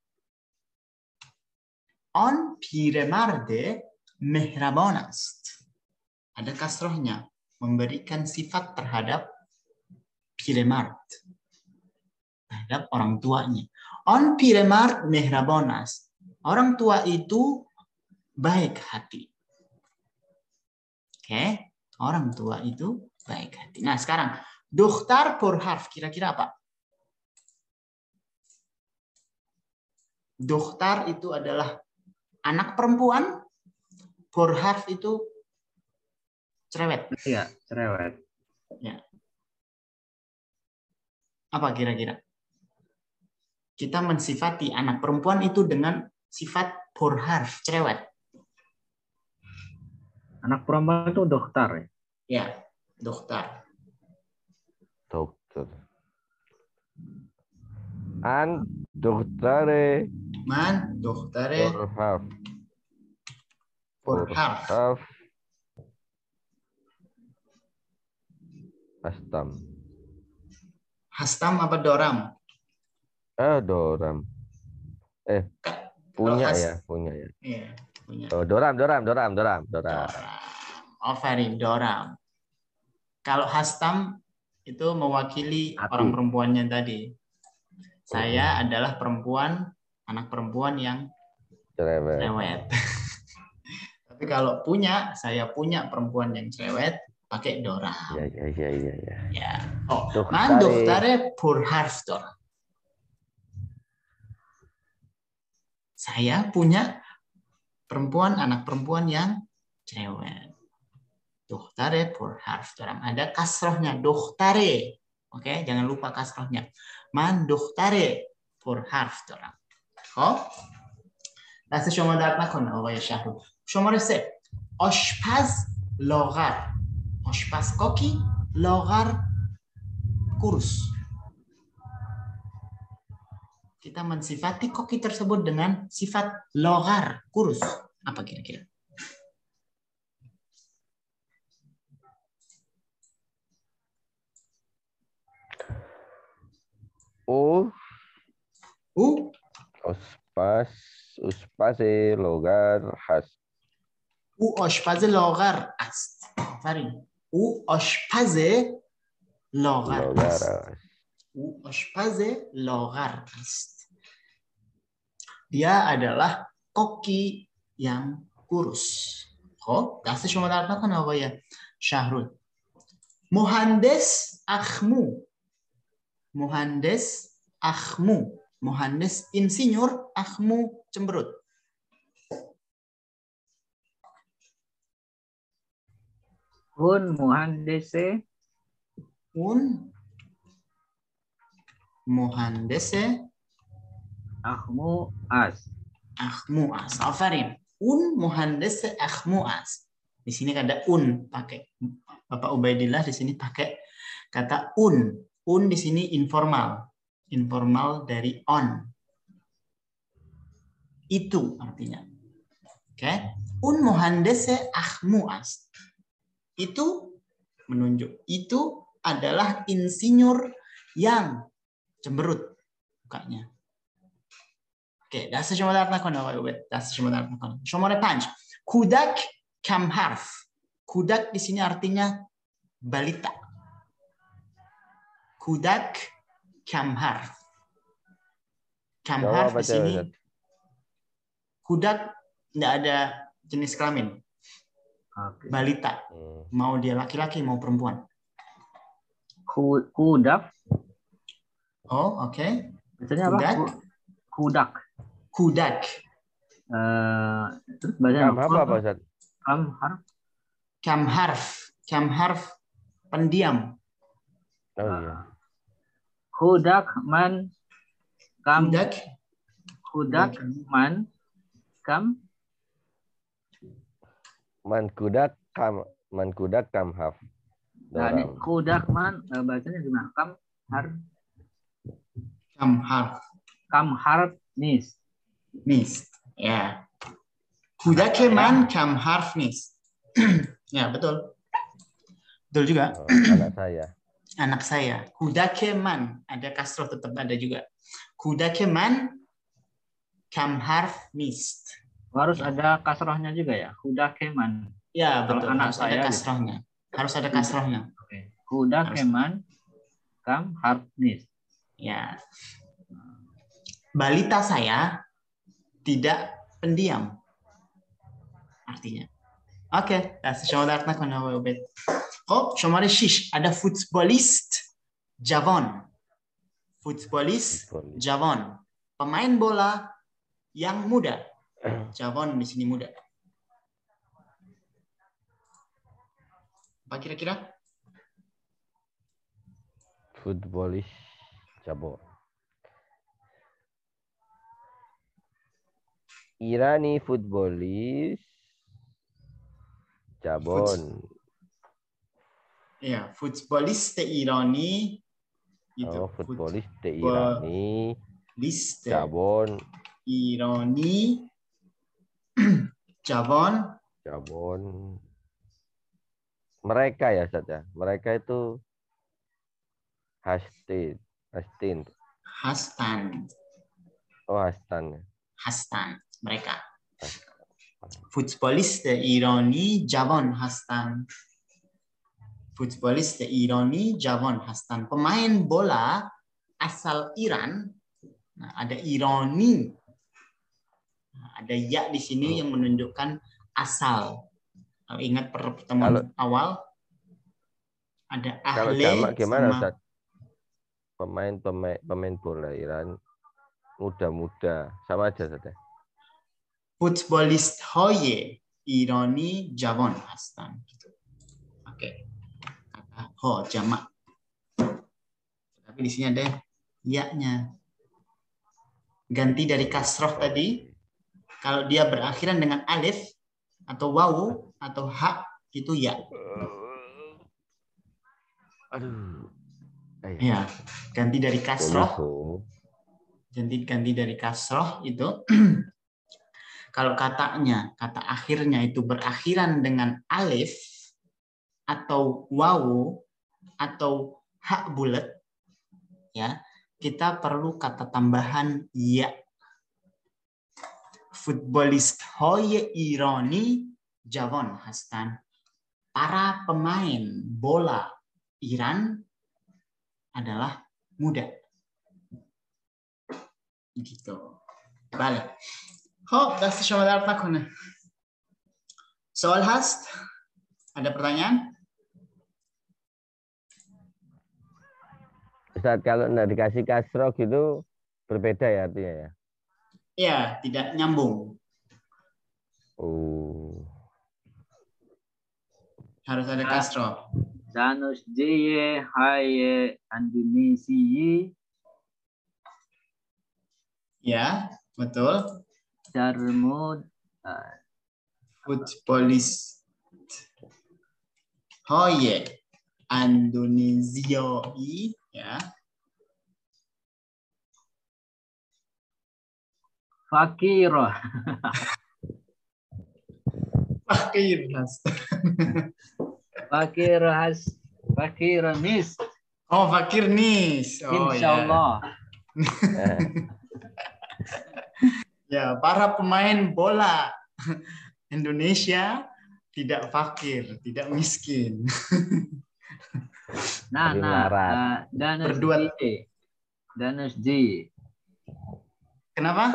On piremarde mehrabon ast. Ada kasrohnya. Memberikan sifat terhadap piremard. Terhadap orang tuanya. On piremard mehrabon ast. Orang tua itu baik hati. Oke, okay. Orang tua itu baik hati. Nah, sekarang dokhtar purharf kira-kira apa? Dokhtar itu adalah anak perempuan, purharf itu cerewet. Iya, cerewet. Ya. Apa kira-kira? Kita mensifati anak perempuan itu dengan sifat purharf, cerewet. Anak perempuan itu dokter ya? Ya, dokter. Dokter. An doktere. Man doktere. Purharf. Purharf. Hastam. Hastam apa doram? Eh, doram. Eh, punya has... ya, punya ya. Iya, punya. Oh, doram, doram, doram, doram, doram. Oh, very doram. Kalau hastam itu mewakili Hati. orang perempuannya tadi. Saya oh. adalah perempuan, anak perempuan yang cerewet. cerewet. Tapi kalau punya, saya punya perempuan yang cerewet, pakai doram. Ya, ya, ya, ya, ya. Ya. Oh, man doktare purharf doram. Saya punya perempuan, anak perempuan yang cerewet. Doktare purharf doram. Ada kasrohnya, doktare. Oke, jangan lupa kasrohnya. Man doktare purharf doram. خب دست شما درد نکنه آقای شهرو. شماره سه آشپز لاغر. آشپز کاکی لاغر kurus. Kita mensifati koki tersebut dengan sifat logar, kurus. Apa kira-kira? U. U. Ospas, uspase logar has. U آشپز لاغر است. آفرین. او آشپز لاغر است. او آشپز لاغر است. Dia adalah koki yang kurus. خب دست شما درد نکنه آقای شهرود. مهندس اخمو. مهندس اخمو. مهندس insinyur, akhmu cemberut. Un muhandese Un muhandese akhmuas. akhmuas. Afarin. Un muhandese akhmuas. Di sini ada un pakai Bapak Ubaidillah di sini pakai kata un. Un di sini informal. Informal dari on. Itu artinya. Oke. Okay. Un muhandese akhmuas. Itu menunjuk. Itu adalah insinyur yang cemberut mukanya. Oke, okay. دست شما درد نکنه آقای عبید. دست شما درد نکنه. شماره پنج. کودک کم حرف. Kudak di sini artinya balita. Kudak kamharf. Kamharf di sini. Kudak tidak ada jenis kelamin. Balita. Mau dia laki-laki mau perempuan. Kudak. Oh, oke. Okay. Bacanya apa? Kudak. Kudak. Uh, terus bacanya apa apa Ustaz? Kamharf. Kamharf. Kamharf pendiam. Oh iya. Kudak man kam. Kudak. Kudak man kam. Man kudak kam man kudak kamhaf. Nah, ini kudak man bacanya gimana? Kam har. Kamharf. Kamharf nis. Nis. Ya. Kudak man kamharf nis. Ya, betul. Betul juga. Oh, anak saya. Anak saya. Kudakeman. Ada kasroh tetap ada juga. Kudakeman kamharf nist. Harus ada kasrohnya juga ya? Kudakeman. Ya, betul. Anak harus saya ada gitu. kasrohnya. Harus ada kasrohnya. Oke. Kudakeman kamharf nist. Ya. Balita saya tidak pendiam. Artinya. اوکی دست شما درد نکنه آقای عبید. خب شماره شش ada فوتبالیست جوان. فوتبالیست جوان. Pemain bola yang muda. Jawon di sini muda. Apa kira-kira? Futbolis Jabon. Irani futbolis Jabon. Ya, futbolis Irani itu. Oh, futbolis Irani. List Jabon. Irani. Jabon. Jabon. Mereka ya saja. Mereka itu Hastin. Hastin. Hastan. Oh, Hastan. Hastan. Mereka. فوتبالیست ایرانی جوان هستند. فوتبالیست ایرانی جوان هستند. Pemain bola asal Iran. Nah, ada Irani. Nah, ada ya di sini yang menunjukkan asal. Kalau ingat pertemuan kalau, awal ada ahle. Kalau jamak gimana sama, Ustaz? Pemain pemain pemain bola Iran muda-muda sama aja saja. فوتبالیست های ایرانی جوان هستند. Oke. Kata ho jamak. Tapi di sini ada ya-nya. Ganti dari kasroh tadi. Kalau dia berakhiran dengan alif atau wawu atau ha itu ya. Aduh. Ya, ganti dari kasroh. Ganti ganti dari kasroh itu. Kalau katanya, kata akhirnya itu berakhiran dengan alif atau wawu atau hak bulat, ya, kita perlu kata tambahan ya. Futbolist hoye Irani Javon Hastan. Para pemain bola Iran adalah muda. Gitu. Balik. خب دست شما درد نکنه. سوال هست؟ Ada pertanyaan? Ustaz, kalau nggak dikasih kasroh gitu berbeda ya artinya ya? Iya, tidak nyambung. Oh. Harus ada kasro. Danus Jeye Haye Indonesia Ya, betul. Darmud Futbolis. Hoye Indonesia ya. Fakiro Fakir. Fakir has Fakir Nis Oh, fakir nis. Oh, Insya Allah. Ya. Ya, para pemain bola Indonesia tidak fakir, tidak miskin. Nah, Tapi nah, melarat. uh, Danus Berdua. J. Danus J. Kenapa?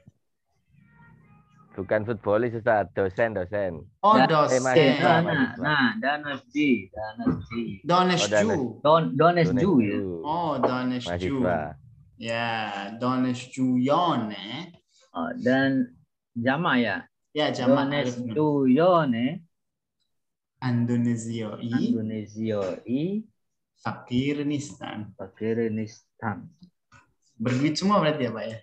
Bukan futbolis, Ustaz. Dosen, dosen. Oh, Dan- dosen. Eh, mahasiswa, Nah, nah, mahasiswa. nah, Danus J. Danus J. Dones Oh, Danes. Ju. Don Dones Ju ya. Donesu. Oh, Dones Ju. Mahasiswa. Ya, Dones Juyon eh. Oh, dan Jama ya. Ya, jamak Dones alif nun. Juyone Indonesia i Indonesia I Fakirnistan. Pakiristan. Berduit semua berarti ya, Pak ya?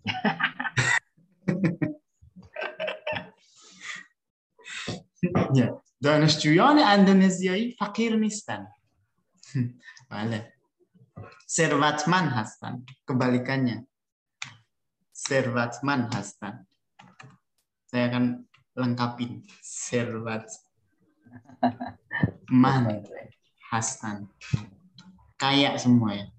Ya, Dones Juyon Indonesia i Fakirnistan. Boleh. Servatman Hastan. Kebalikannya. Servatman Hastan. Saya akan lengkapin. Servatman Hastan. Kayak semua ya.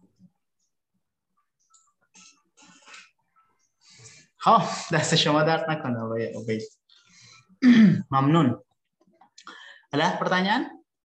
Oh, das ist schon mal da nakon ya, Ubay. Mamnun. Ada pertanyaan?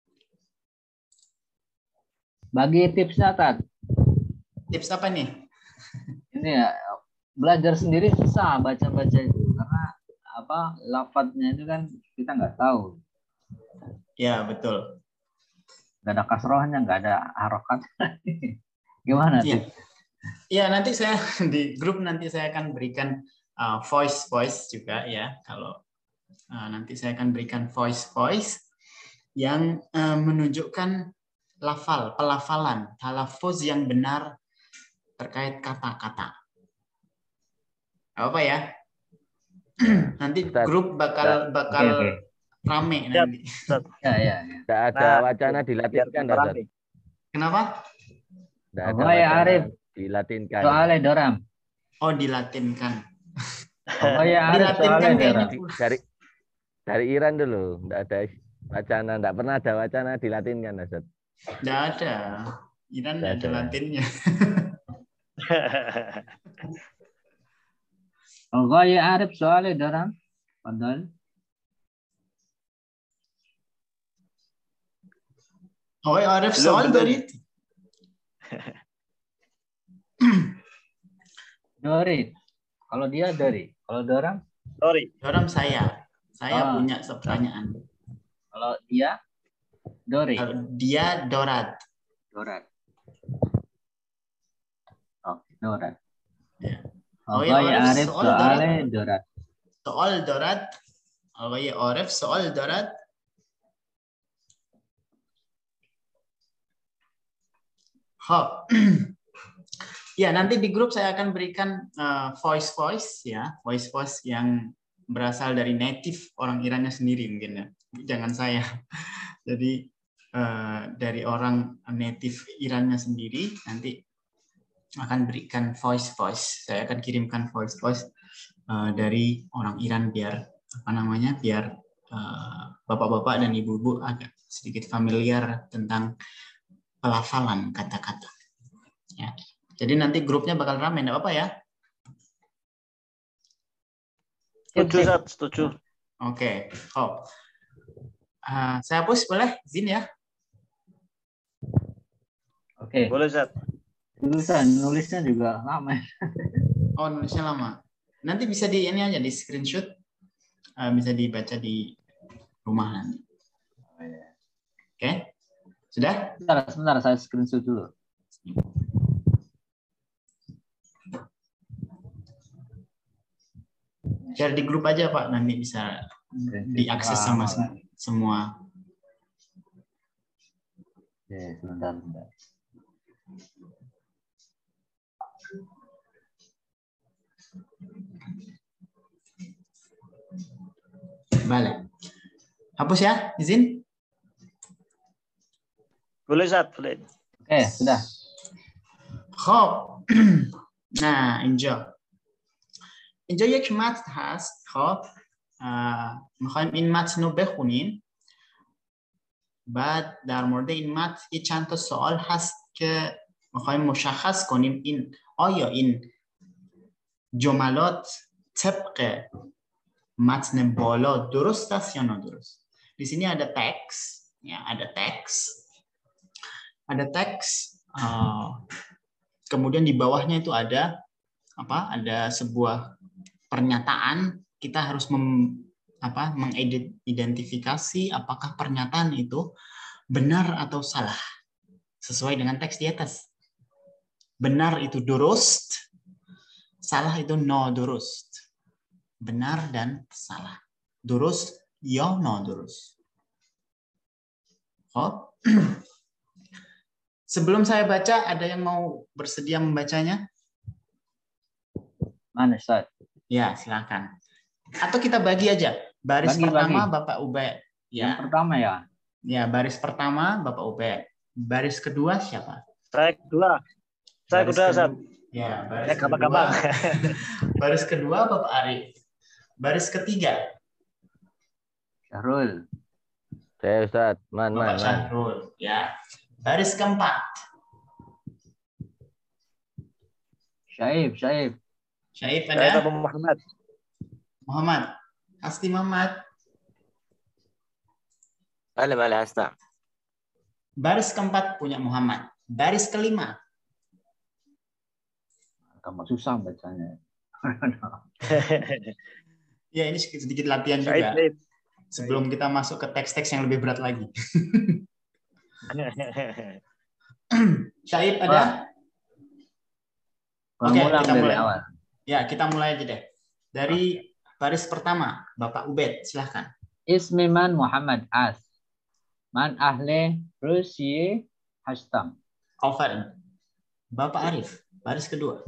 Bagi tipsnya, Tat. Tips apa nih? Ini ya, belajar sendiri susah baca-baca itu karena apa lafadznya itu kan kita nggak tahu. Ya, betul. Nggak ada kasrohnya, nggak ada harokat. Gimana Iya. tips? Ya, nanti saya di grup nanti saya akan berikan uh, voice voice juga ya. Kalau uh, nanti saya akan berikan voice voice yang uh, menunjukkan lafal, pelafalan, talafuz yang benar terkait kata-kata. Apa ya? Nanti Ustaz. grup bakal bakal Oke, oke. rame Siap. nanti. Ya, ya, ya. Tidak ada Nah, wacana biar dilatinkan, orang Ustaz. nih. Kenapa? Tidak ada Oh, ya, wacana Arif. dilatinkan. Soalnya Doram. Oh, dilatinkan. Oh ya, Arif Dilatinkan soalnya kayaknya. Doram. Dari dari Iran dulu, tidak ada wacana, tidak pernah ada wacana dilatinkan, Ustaz. Tidak ada. Iran Nggak ada ada. latinnya. Oh ya, Arif soalnya Doram. Padahal. Oh, Arif Belum, soal belum. dari Dori. Kalau dia Dori. Kalau Doram. Sorry. orang saya. Saya Ah. punya pertanyaan. Kalau dia Dori. Kalau dia Dorat. Dorat. Oh, Dorat. Ya. Oh, Oh, ya, ya, Arif Arif soal soalnya Dorat. Soal Dorat. Oh, ya, Arif soal Dorat. Hop. Ya, nanti di grup saya akan berikan uh, voice voice ya, voice voice yang berasal dari native orang Irannya sendiri mungkin ya. Jangan saya. Jadi uh, dari orang native Irannya sendiri nanti akan berikan voice voice. Saya akan kirimkan voice voice uh, dari orang Iran biar apa namanya? biar uh, bapak-bapak dan ibu-ibu agak sedikit familiar tentang pelafalan kata-kata. Ya. Jadi nanti grupnya bakal ramai, enggak apa-apa ya? Setuju, Zat. Setuju. Oke. Oh. Uh, saya hapus boleh? Izin ya? Oke. Boleh, Zat. Tulisan nulisnya juga lama. Oh, nulisnya lama. Nanti bisa di ini aja di screenshot. Uh, bisa dibaca di rumah nanti. Oke? Sudah? Sebentar, sebentar saya screenshot dulu. Share di grup aja Pak, nanti bisa diakses sama sem- semua Oke, sebentar, sebentar. Balik. Hapus ya, izin? Boleh, Ustaz, boleh. Oke, sudah. خب نه اینجا اینجا یک متن هست. خب میخوایم این متن رو بخونیم. بعد در مورد این متن یه چند تا سوال هست که میخوایم مشخص کنیم این آیا این جملات طبق متن بالا درست است یا نادرست. Di sini ada teks, ya ada teks, ada teks. Uh, kemudian di bawahnya itu ada apa? Ada sebuah pernyataan. Kita harus mem, apa? mengidentifikasi apakah pernyataan itu benar atau salah sesuai dengan teks di atas. Benar itu durust, salah itu no durust. Benar dan salah. Durust ya no durust. Oh. Sebelum saya baca, ada yang mau bersedia membacanya? Mana, Ustaz? Ya, silakan. Atau kita bagi aja. Baris Bagi, pertama bagi. Bapak Ubed. Ya. Yang pertama ya. Ya, baris pertama Bapak Ubed. Baris kedua siapa? Saya kedua. Saya Baris kedua, kedua- Ustaz. Ya, baris Saya kedua. gampang-gampang. Baris kedua Bapak Arif. Baris ketiga Syahrul. Saya Ustaz, man, man, Bapak man. Syahrul. Ya. Baris keempat Syaib, Syaib. Syaib Saya ada? Bapak Muhammad. Muhammad. Asti Muhammad. بله بله هستم. Baris keempat punya Muhammad. Baris kelima Kamu susah bacanya. ya ini sedikit, sedikit latihan Said, juga Said. sebelum kita masuk ke teks-teks yang lebih berat lagi. Syaib ada? Oke, Pengulang kita dari mulai. awal. Ya, kita mulai aja deh. Dari baris pertama, Bapak Ubed, silahkan. Ismi man Muhammad As. Man ahle Rusiye Hastam. Alfarin. Bapak Arif, baris kedua.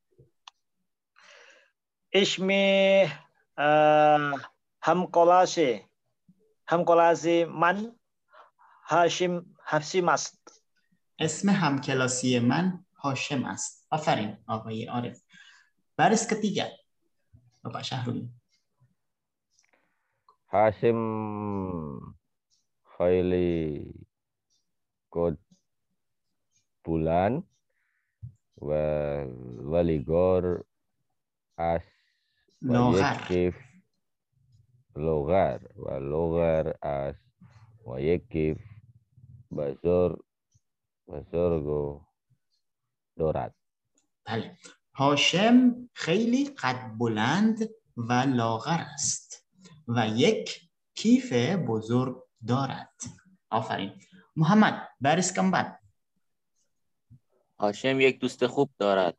Ismi uh, Hamkolasi. Hamkolasi man Hashim Hafsimas. اسم همکلاسی من هاشم است. آفرین آقای عارف. baris ketiga, Bapak Syahrul. Hasim Khaili Kod Bulan wa Waligor As Logar. Wayekif Logar wa Logar As Wayekif Bazor Bazorgo Dorat. بله. هاشم خیلی قد بلند و لاغر است و یک کیف بزرگ دارد. آفرین. محمد baris keempat. هاشم یک دوست خوب دارد.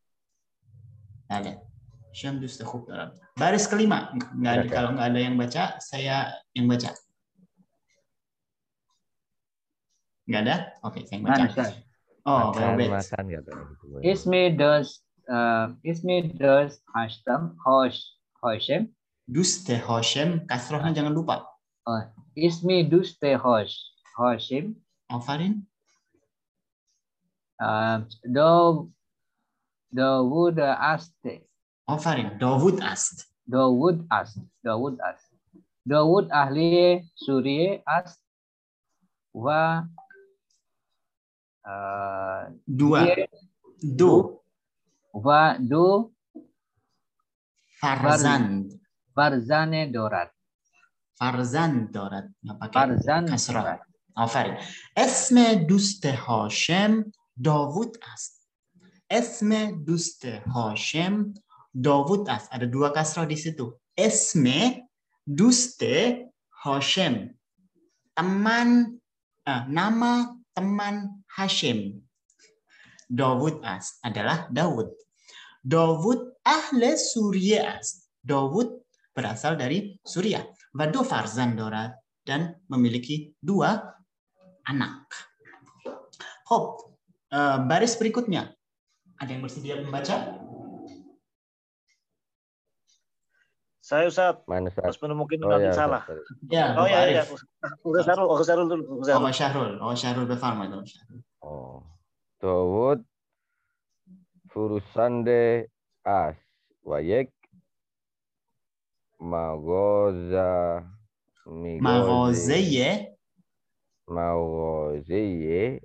Ada. Hashim دوست خوب دارد. Baris kelima. Nggak ada, kalau nggak ada yang baca, saya yang baca. Nggak ada? Oke, saya yang baca. Mana, Ustaz? Oh, Makan, Ubed. makan kata gitu. Ismi dos uh, Ismi dos Hastam Hosh Hoshem. Duste Hashim, kasrohnya jangan lupa. Oh, Ismi Duste Hosh Hoshim. Alfarin. Uh, do Dawud Aste. Alfarin. Dawud Ast. Dawud Ast. Dawud Ast. Dawud ahli Suriye Ast. Wa uh, Dua. dia- Du. Wa do Farzand. Farzane Dorat. Farzand دارد. Nggak pakai Farzan kasrah. Dorat. آفرین. اسم دوست هاشم داوود است. اسم دوست هاشم داوود است. Ada dua kasrah di situ. اسم دوست هاشم. Teman, ah, nama teman Hashim. Dawud است. Adalah Dawud. Dawud ahle Suriye است. Dawud berasal dari Suriah. Wa do farzan dorat. Dan memiliki dua anak. Hop, uh, baris berikutnya. Ada yang bersedia membaca? Saya Ustaz. Mana Ustaz? Terus mungkin Oh nanti ya, salah. Ustaz. Ya, Oh Bapak ya ya. Arif. Udah Sarul, oh Sarul dulu. Oh, Sarul. Pak Syahrul. Oh, Syahrul berfarma itu. Oh. Dawud Furusande As Wayek Magoza Migozi Maghozeye Magoziye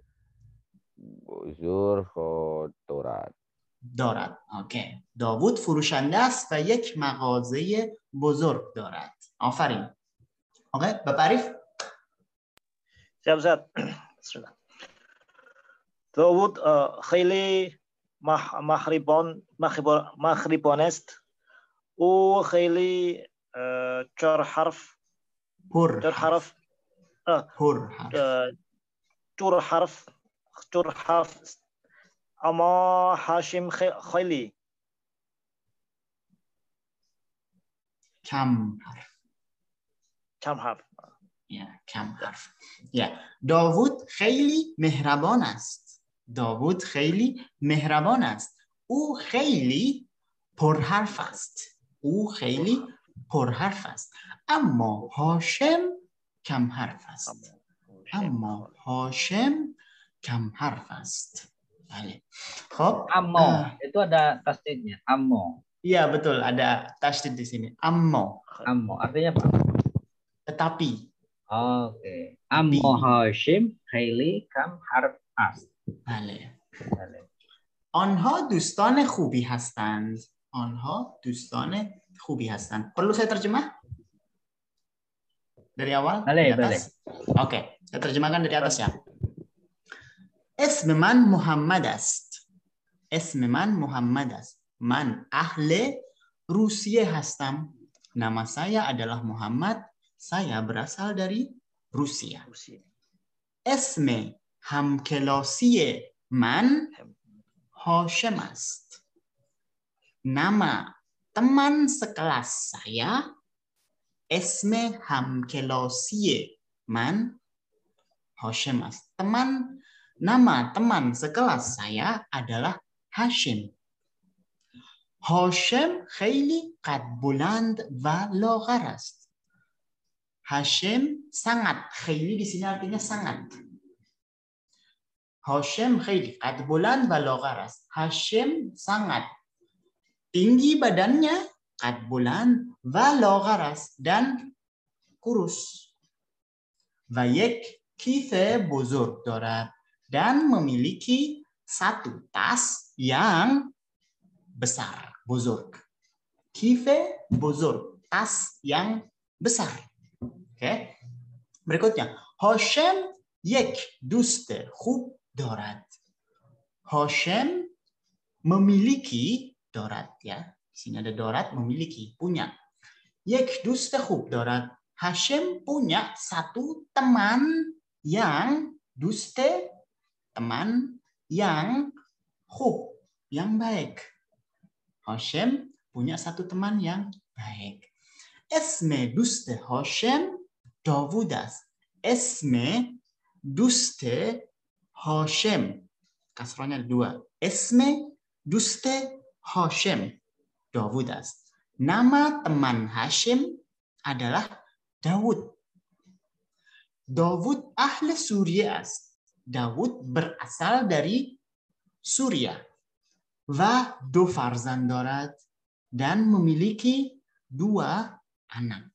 Buzur Khotorat. دارد. اوکی. داوود فروشنده است و یک مغازه بزرگ دارد. آفرین. اوکی، Bapak Arif. Siap Ustaz. Bismillah. Dawud uh, khayli mah mahribon mahribon mahribonest u khayli uh, char harf Hur. char harf uh, Hur. uh, chur harf chur harf ama Hashim khayli Kam harf. cham harf. یا کم حرف. یا داوود خیلی مهربان است. داوود خیلی مهربان است. او خیلی پرحرف است. او خیلی پرحرف است. اما هاشم کم حرف است. اما هاشم کم حرف است. بله. خب Ammo uh, itu ada tasdidnya. Ammo. iya betul, ada tasdid di sini. Ammo. Ammo artinya apa? Tetapi. Oke. Ammo Hashim خیلی کم حرف است. بله. بله. آنها دوستان خوبی هستند. آنها دوستان خوبی هستند. Perlu saya terjemah? Dari awal? Boleh, dari atas? Oke, saya terjemahkan dari atas ya. اسم من محمد است. اسم من محمد است. من اهل روسیه هستم. Nama saya adalah Muhammad. Saya berasal dari Rusia. اسم همکلاسی من هاشم است. Nama teman sekelas saya, اسم همکلاسی من هاشم است. Teman nama teman sekelas saya adalah Hashim. هاشم خیلی قد بلند و لاغر است. Hashim sangat. Khayli di sini artinya sangat. Hashim khayli qad bulan wa lagharas. Hashim sangat tinggi badannya, qad bulan wa lagharas, dan kurus. Wa yek kife buzurg dorad, dan memiliki satu tas yang besar. Buzurg. Kife buzurg, tas yang besar. Oke, okay. Berikutnya, Hashim yek dust khub dorad. Hashim memiliki dorad ya. Di sini ada dorad, memiliki, punya. Yek dust khub dorad. Hashim punya satu teman yang duste, teman yang khub, yang baik. Hashim punya satu teman yang baik. Esme duste Hashim Dawud است. اسم دوست هاشم. Kasrahnya ada dua. اسم دوست هاشم Dawud است. Nama teman Hashim adalah Dawud. Dawud ahli Suriah است. Dawud berasal dari Suriah. و دو فرزند دارد. Dan memiliki dua anak.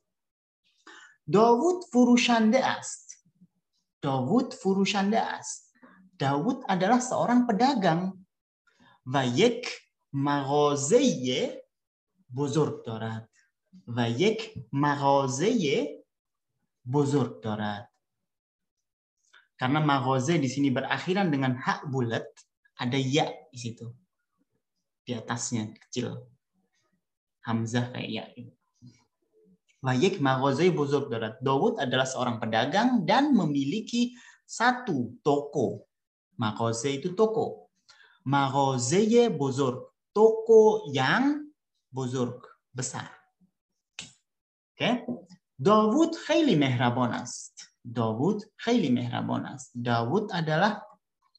Dawud furushande است. Dawud furushande است. Dawud adalah seorang pedagang. و یک مغازه بزرگ دارد. و یک مغازه بزرگ دارد. Karena مغازه di sini berakhiran dengan hak bulat, ada ya di situ. Di atasnya kecil. Hamzah kayak ya. Wayek maghazai buzurg darat. Dawud adalah seorang pedagang dan memiliki satu toko. Maghazai itu toko. Maghazai buzurg. Toko yang buzurg, besar. Oke. Okay. Dawud khayli mehraban است. Dawud khayli mehraban است. Dawud adalah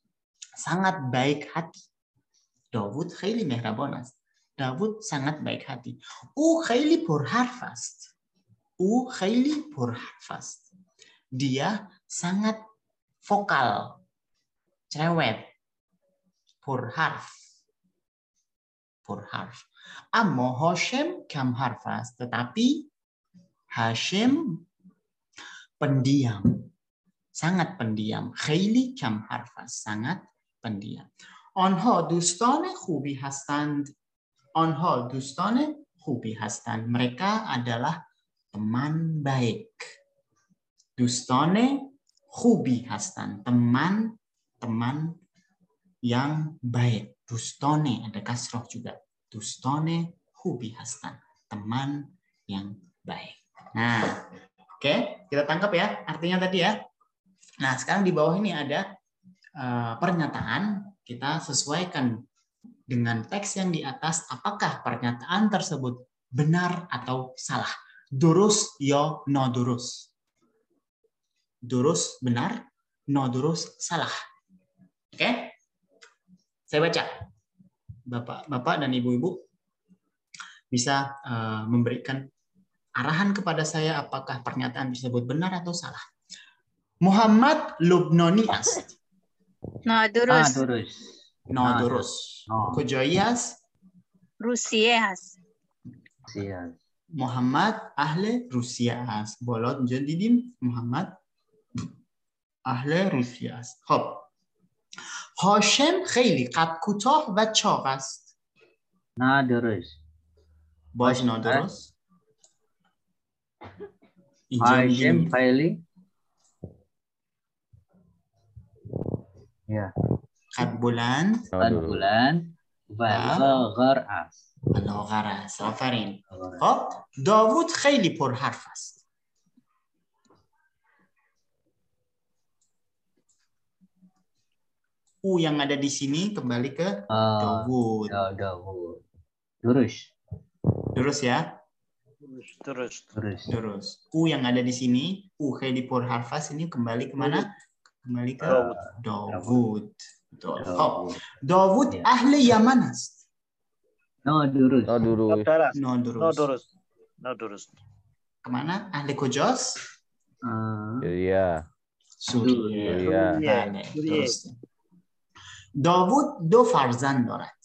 sangat baik hati. Davud خیلی مهربان است. Davud sangat baik hati. او خیلی پرحرف است. او خیلی پرحرف است. Dia sangat vokal. Cerewet. Purharf. Purharf. Amma Hashim kam harf است. Tetapi Hashim pendiam. Sangat pendiam. خیلی کم حرف است. Sangat pendiam. آنها دوستان خوبی هستند. آنها دوستان خوبی هستند. Mereka adalah teman baik. دوستان خوبی هستند. Teman-teman yang baik. Dostone ada kasroh juga. Dostone خوبی هستند. Teman yang baik. Nah, oke, okay, kita tangkap ya artinya tadi ya. Nah, sekarang di bawah ini ada uh, pernyataan. Kita sesuaikan dengan teks yang di atas. Apakah pernyataan tersebut benar atau salah? Durus yo no durus. Durus benar, no durus salah. Oke? Okay? Saya baca. Bapak-bapak dan ibu-ibu bisa uh, memberikan arahan kepada saya apakah pernyataan tersebut benar atau salah. Muhammad Lubnani است. نه درست. درست. نادرست. کجایی است؟ روسیه هست. روسیه. محمد اهل روسیه است. بالا اینجا دیدیم محمد اهل روسیه است. خب. هاشم خیلی قد کوتاه و چاق است. نه درست. باش نادرست. هاشم خیلی یا قد بلند قد بلند و لاغر است. لاغر است. آفرین. خب داوود خیلی پرحرف است. U yang ada di sini kembali ke Dawud. Ya, Dawud. Terus. Terus ya. Terus. Terus. Terus. U yang ada di sini, U khayli purharfas ini kembali kemana? Kembali ke Dawud. Betul. Oh. Dawud ya. Ahli Yaman است. No durus. No durus. No durus. No durus. No durus. Kemana? Ahli kujos? Uh, Iya. Suriye. Bale. Terus. داوود دو فرزند دارد.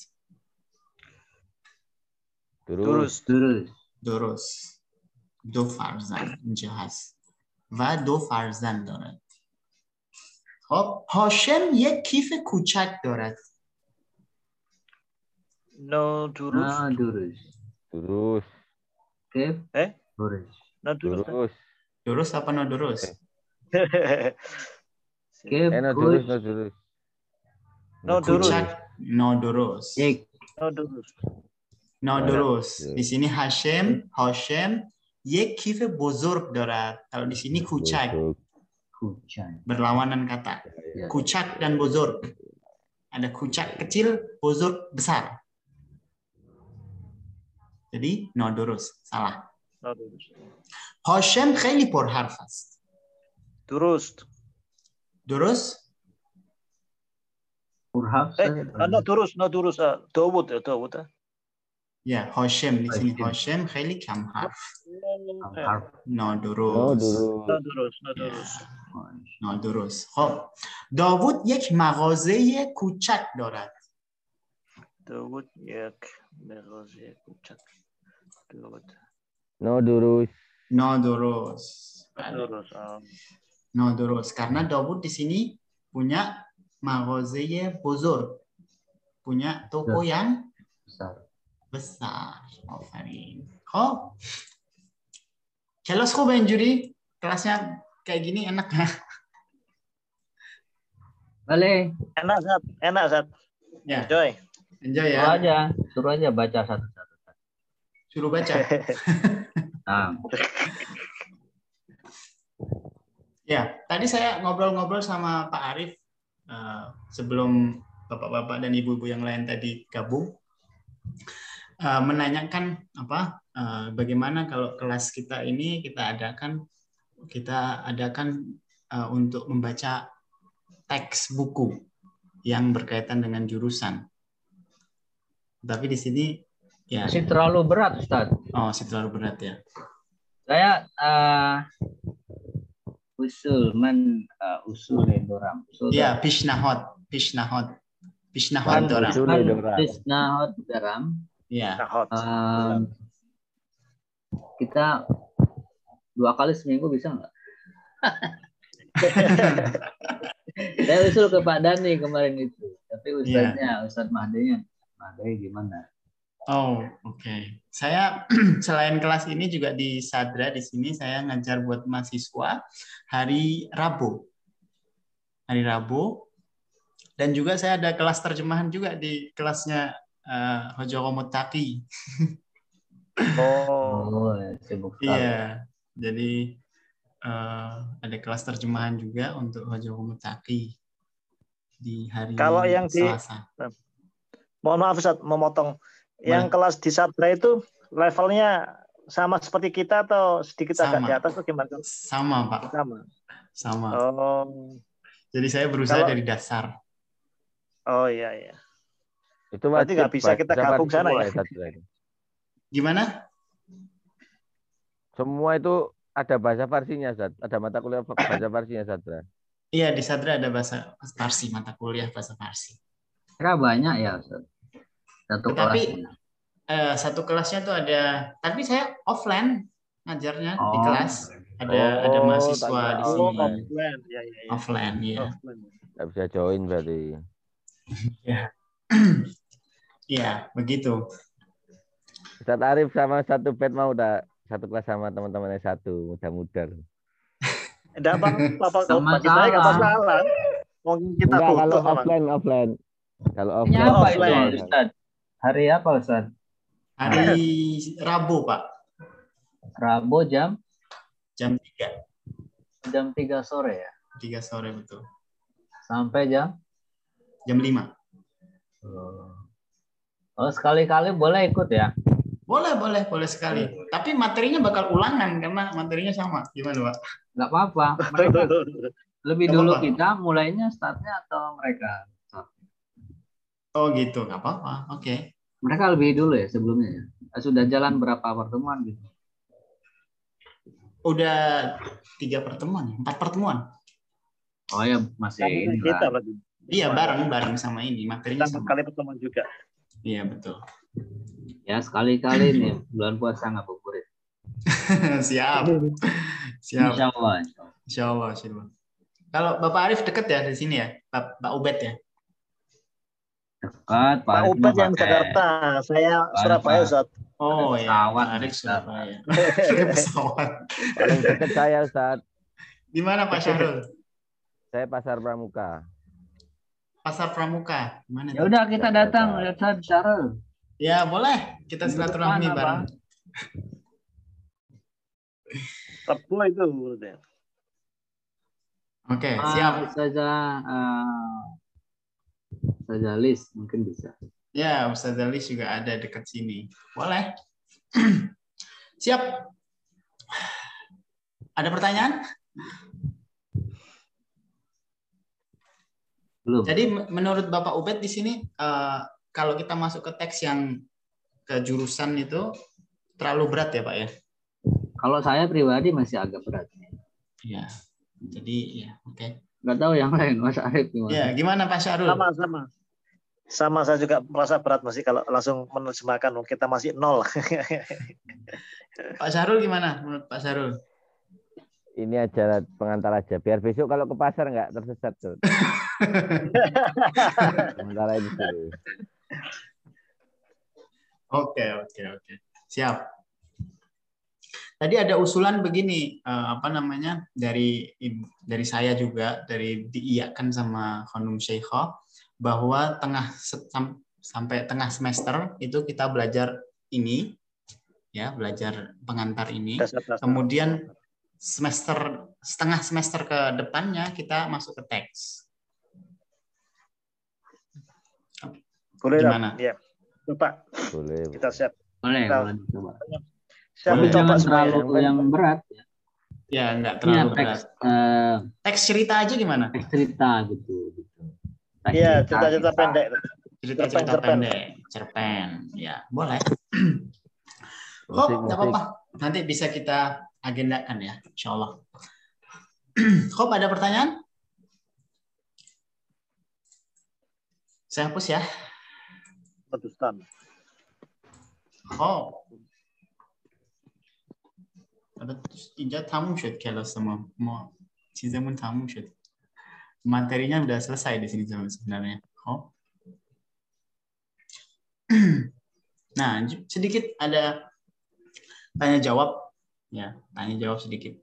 درست. درست. درست. دو فرزند اینجا هست. و دو فرزند دارد. خب هاشم یک کیف کوچک دارد. No درست. نه درست. Durus. کیف؟ Eh? درست. No durus. Durus. Durus apa no durus? کیف؟ Eh, no durus, no durus. No durus. Kucak, no durus. یک. No durus. No durus. Di sini Hashem, Hashem, یک کیف بزرگ دارد. Kalau di sini kucak. Kucak. Berlawanan kata. Kucak dan bozor. Ada kucak kecil, bozor besar. Jadi no durus. Salah. No durus. Hashem خیلی پرحرف است. درست. Durus? Purhaf. Eh, no durus, no durus. Dawud, Dawud. Ya, Hashem di sini Hashem خیلی کم حرف. No durus. No durus. No durus, no durus. No durus. خب داوود یک مغازه کوچک دارد. داوود یک مغازه کوچک دارد. No durus. No durus. Durus. No durus. Karena Dawud di sini punya مغازه بزرگ. Punya toko yang besar. besar. آفرین. خب kelas خوبه اینجوری؟ kelasnya kayak gini enak ya? Boleh. Enak, Zat. Enak, Zat. Ya. Enjoy. Enjoy ya. Suruh aja, suruh aja baca satu-satu. Suruh baca. Nah. Ya, tadi saya ngobrol-ngobrol sama Pak Arif uh, sebelum bapak-bapak dan ibu-ibu yang lain tadi gabung, uh, menanyakan apa uh, bagaimana kalau kelas kita ini kita adakan kita adakan uh, untuk membaca teks buku. yang berkaitan dengan jurusan. Tapi di sini ya. Masih terlalu berat, Ustaz. Oh, masih terlalu berat ya. Saya uh, usul man uh, usul doram. Usul Ya, pishnahot, pishnahot, pishnahot doram. usul doram. Pisnahot doram. Ya. Um, kita dua kali seminggu bisa nggak? Saya usul ke Pak Dani kemarin itu, tapi Ustadznya, yeah. Ustadz Mahdinya, Mahdi gimana? Oh, oke. Okay. Saya selain kelas ini juga di Sadra di sini saya ngajar buat mahasiswa hari Rabu. Hari Rabu. Dan juga saya ada kelas terjemahan juga di kelasnya uh, Hojo Komutaki. Oh, sibuk sekali. Iya. Jadi uh, ada kelas terjemahan juga untuk Hojo Komutaki di hari Kalau yang Selasa. Di, mohon maaf Ustaz, memotong. Yang kelas di Sadra itu levelnya sama seperti kita atau sedikit sama. agak di atas atau gimana? Sama, Pak. Sama. Sama. Oh. Jadi saya berusaha Kalau, dari dasar. Oh iya iya. Itu berarti nggak bisa kita gabung sana ya? ya? Gimana? Semua itu ada bahasa Farsinya, Ustaz. Ada mata kuliah bahasa Farsinya, Sadra. Iya, di Sadra ada bahasa Farsi, mata kuliah bahasa Farsi. Kira banyak ya, Ustaz. Satu tapi kelasnya. Eh, satu kelasnya tuh ada, tapi saya offline ngajarnya oh. di kelas. Ada oh, ada mahasiswa di sini. Oh, offline, ya, ya, ya. Offline, ya. Nggak bisa join berarti. Ya, ya begitu. Ustaz Arif sama satu pet mau udah satu kelas sama teman-temannya satu mudah-mudah. Enggak apa-apa, sama kita nggak masalah. Mungkin kita Enggak, kalau butuh offline, offline. Kalau offline. Ini apa offline. itu, Ustaz? Hari apa, Ustaz? Hari Rabu, Pak. Rabu jam? Jam tiga. Jam tiga sore ya? tiga sore, betul. Sampai jam? Jam lima. Oh, sekali-kali boleh ikut ya? Boleh, boleh, boleh sekali. Tapi materinya bakal ulangan karena materinya sama. Gimana, Pak? Nggak apa-apa. Mereka lebih Nggak dulu apa-apa. kita mulainya startnya atau mereka? Oh gitu, nggak apa-apa. Oke. Okay. Mereka lebih dulu ya sebelumnya ya? Sudah jalan berapa pertemuan gitu? Udah tiga pertemuan, empat pertemuan. Oh ya masih ini kita lah. berarti. Iya, bareng-bareng sama ini. Materinya Kita sama. kali pertemuan juga. Iya, betul. Ya sekali-kali nih bulan puasa ngabuburit. Siap. Siap. Insya Allah. Insya Allah. Insya Allah. Kalau Bapak Arif deket ya di sini ya? Pak, Pak Ubed ya? Dekat, Pak Ubed yang Jakarta, saya Surabaya, Ustaz. Oh ya, pesawat Pak Arif bisa. Surabaya. Pakai pesawat. Paling dekat saya, Ustaz. Di mana Pak Syahrul? Saya Pasar Pramuka. Pasar Pramuka. Mana? Ya udah kita datang lihat Ustaz Syarul. Ya boleh, kita silaturahmi bareng. Rebu itu berarti. Oke, siap. Saja saja list mungkin bisa. Ya, Ustaz Alis juga ada dekat sini. Boleh. Siap. Ada pertanyaan? Belum. Jadi menurut Bapak Ubed di sini uh, kalau kita masuk ke teks yang ke jurusan itu terlalu berat ya Pak ya? Kalau saya pribadi masih agak berat. Iya. Jadi ya oke. Okay. Nggak tahu yang lain Mas Arif gimana? Ya gimana Pak Syahrul? Sama sama. Sama saya juga merasa berat masih kalau langsung menerjemahkan kita masih nol. Pak Syahrul gimana menurut Pak Syahrul? Ini aja pengantar aja. Biar besok kalau ke pasar nggak tersesat tuh. Sementara ini dulu. Oke oke oke. Siap. Tadi ada usulan begini, uh, apa namanya dari dari saya juga dari diiyakan sama Khanum Syeikha bahwa tengah sampai tengah semester itu kita belajar ini, ya belajar pengantar ini. Kemudian semester setengah semester ke depannya kita masuk ke teks. Boleh gimana? Ya, Pak. Boleh. Kita siap. Boleh, kita, boleh coba. Siap Boleh, jangan semuanya. terlalu yang berat. Ya, enggak terlalu ya, teks, berat. uh, Teks cerita aja gimana? Teks cerita gitu. gitu. Iya, Kita- cerita-cerita kita- pendek. Cerita-cerita Cerpen, cerpen. pendek, cerpen. Ya, boleh. Musik, Hop, nggak musik. apa-apa. Nanti bisa kita agendakan ya, insya Allah. Hop, ada pertanyaan? Saya hapus ya. Pakistan. Hop. आता اینجا تموم شد کلاس ما ما چیزمون تموم شد materinya udah selesai di sini sebenarnya. Oh. Nah, sedikit ada tanya jawab ya, tanya jawab sedikit.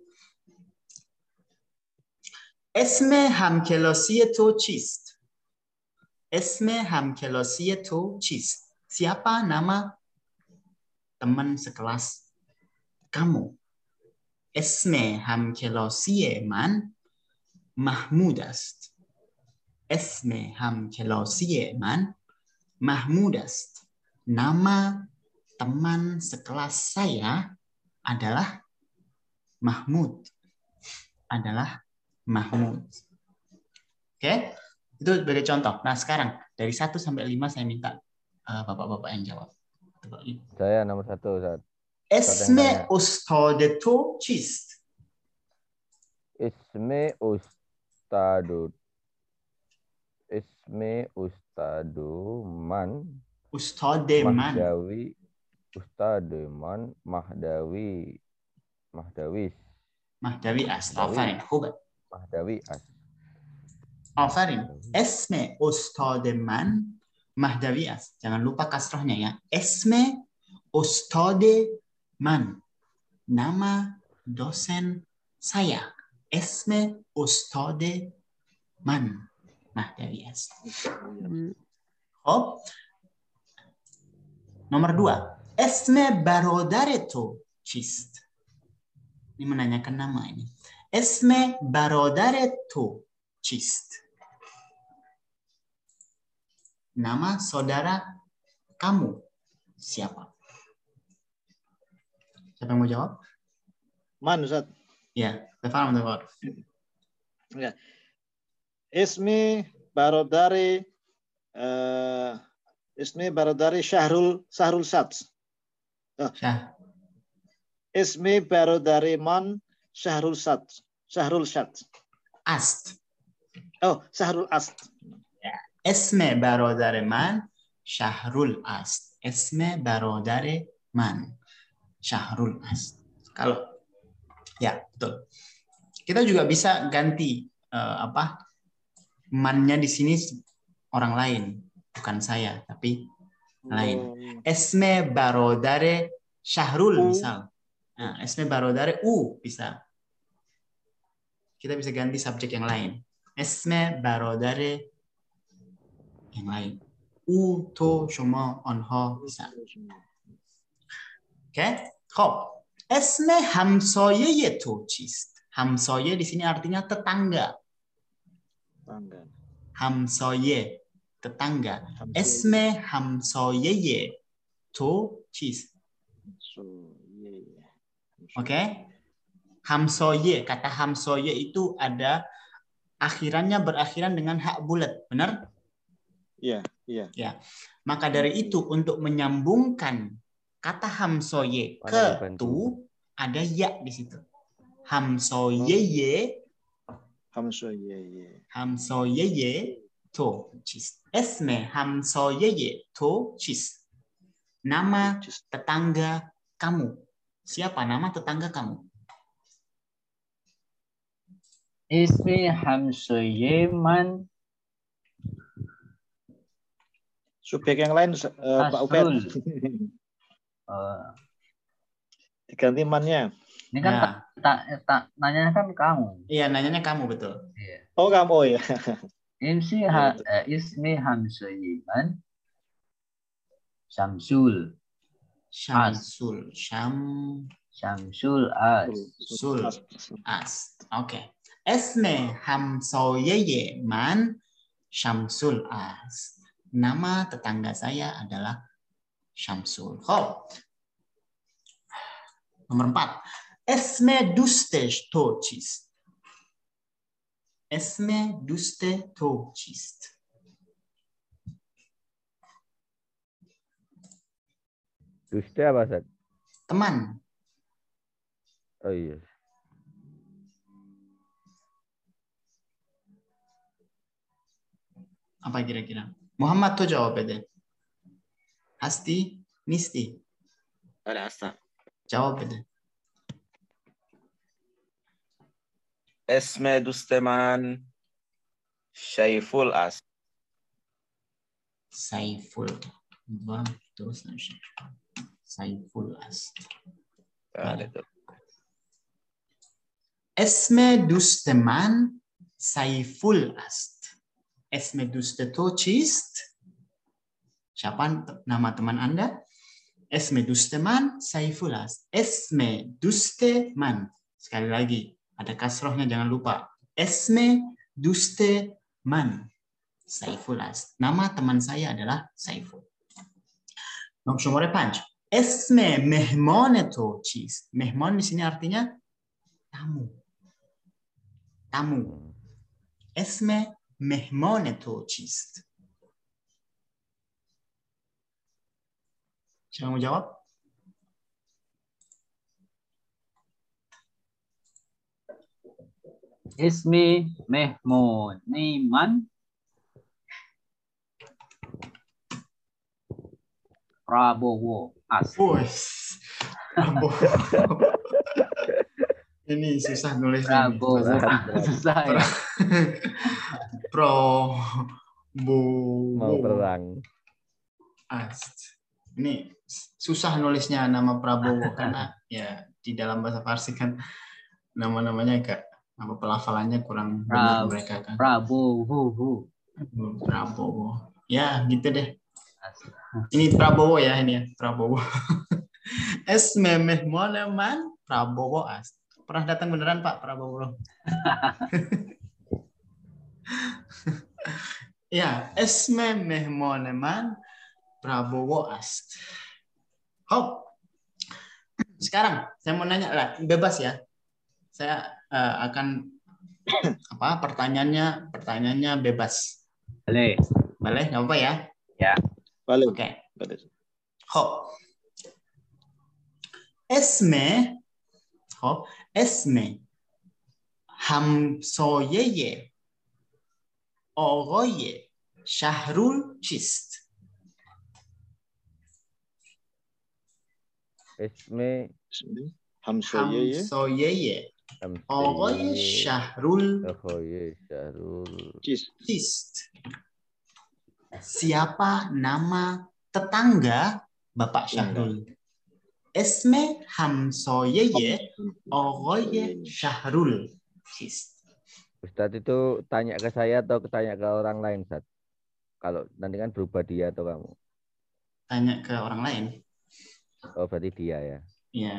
اسم همکلاسی تو چیست؟ اسم همکلاسی تو چیست? Siapa nama teman sekelas kamu? اسم همکلاسی من محمود است. اسم همکلاسی من محمود است. Nama teman sekelas saya adalah Mahmud. Adalah Mahmud. Oke, itu sebagai contoh. Nah, sekarang dari satu sampai lima saya minta uh, bapak-bapak yang jawab. Saya nomor satu, Ustaz. Esme ustade to chist. Isme ustadu. Isme ustadu man. Ustade man. Mahdawi. Ustade man. Mahdawi. Mahdawis. Mahdawi as. Afarin. Hubat. Mahdawi as. Afarin. Esme ustade man. Mahdawi as. Jangan lupa kasrohnya ya. Esme ustade man. Nama dosen saya. Esme ustade man. Mahdawi as. Oh. Nomor dua. Esme barodare to chist. Ini menanyakan nama ini. Esme barodare to chist. Nama saudara kamu siapa? Siapa yang mau jawab? Man, Ustaz. Ya, Stefan mau jawab. Ya. Ismi barodari uh, Ismi barodari Syahrul Syahrul Sats. Oh. Syah. Ismi barodari man Syahrul Sats. Syahrul Sats. Ast. Oh, Syahrul Ast. Esme barodare man Syahrul Ast. Esme barodare man Syahrul Ast. Kalau ya betul. Kita juga bisa ganti uh, apa mannya di sini orang lain, bukan saya tapi lain. Esme barodare Syahrul misal. Nah, esme barodare U bisa. Kita bisa ganti subjek yang lain. Esme barodare yang lain. U, to, shoma, onha bisa. Oke, khop. Esme hamsoye to chist. Hamsoye di sini artinya tetangga. Hamsoye, tetangga. Esme hamsoye to chist. Oke. Hamsoye, kata hamsoye itu ada akhirannya berakhiran dengan hak bulat, benar? Iya, iya. Ya. Maka dari itu untuk menyambungkan kata hamsoye ke tu ada ya di situ. Hamsoye Hamsoye. hamsoye to chis. Esme hamsoye to chis. Nama tetangga kamu. Siapa nama tetangga kamu? Ismi hamsoye man Subjek yang lain uh, Pak Ubed. Uh, Diganti mannya. Ini kan Ya. tak ta, ta, nanya kan kamu. Iya, nanyanya kamu betul. Iya. Oh, kamu oh, ya. Ismi ha, eh, ismi hamsoye man Syamsul. Syamsul. Syam Syamsul as. sul as. Oke. Okay. Esme hamsoye man Syamsul as. Nama tetangga saya adalah Syamsul. Oh. Nomor empat. Esme duste tochist. Esme duste tochist. Duste apa, Ustaz? Teman. Oh iya. Apa kira-kira? Muhammad tuh jawab deh. Hasti, Nisti. Wala hasta. Jawab deh. اسم دوست من شیفول است. Saiful. Bang, terus Saiful است. بله. اسم دوست من سیفول است. اسم دوست تو چیست؟ Siapa nama teman Anda? اسم دوست من سیفول است. اسم دوست من. Sekali lagi, ada kasrohnya jangan lupa. اسم دوست من سیفول است. Nama teman saya adalah Saiful. Nomor شماره پنج. اسم مهمان تو چیست؟ مهمان di sini artinya tamu. Tamu. اسم مهمان تو چیست؟ Siapa mau jawab? Ismi Mehmun Niman Prabowo As. Wes. Prabowo. Ini susah nulisnya. Prabowo. Susah ya. Pro Mau perang. Ast. Ini susah nulisnya nama Prabowo karena ya di dalam bahasa Farsi kan nama-namanya agak apa pelafalannya kurang benar mereka kan. Prabowo. Prabowo. Ya, gitu deh. Ini Prabowo ya ini ya, Prabowo. Esme mehmone man Prabowo As. Pernah datang beneran Pak Prabowo? Ya, esme mehmone man Prabowo As. Hop. Sekarang saya mau nanya lah, bebas ya. Saya uh, akan apa? Pertanyaannya, pertanyaannya bebas. Boleh. Boleh, nggak apa ya? Ya. Boleh. Oke. Boleh. Hop. Esme, hop. Esme همسایه آقای شهرول چیست؟ Isme Hamsoye. همسایه آقای شهرول Ahoye Syahrul چیست؟ Siapa nama tetangga Bapak Syahrul? Esme hamsoyeye Ogoye Syahrul. Ustadz itu tanya ke saya atau tanya ke orang lain, Ustadz? Kalau nanti kan berubah dia atau kamu? Tanya ke orang lain. Oh, berarti dia ya? Iya.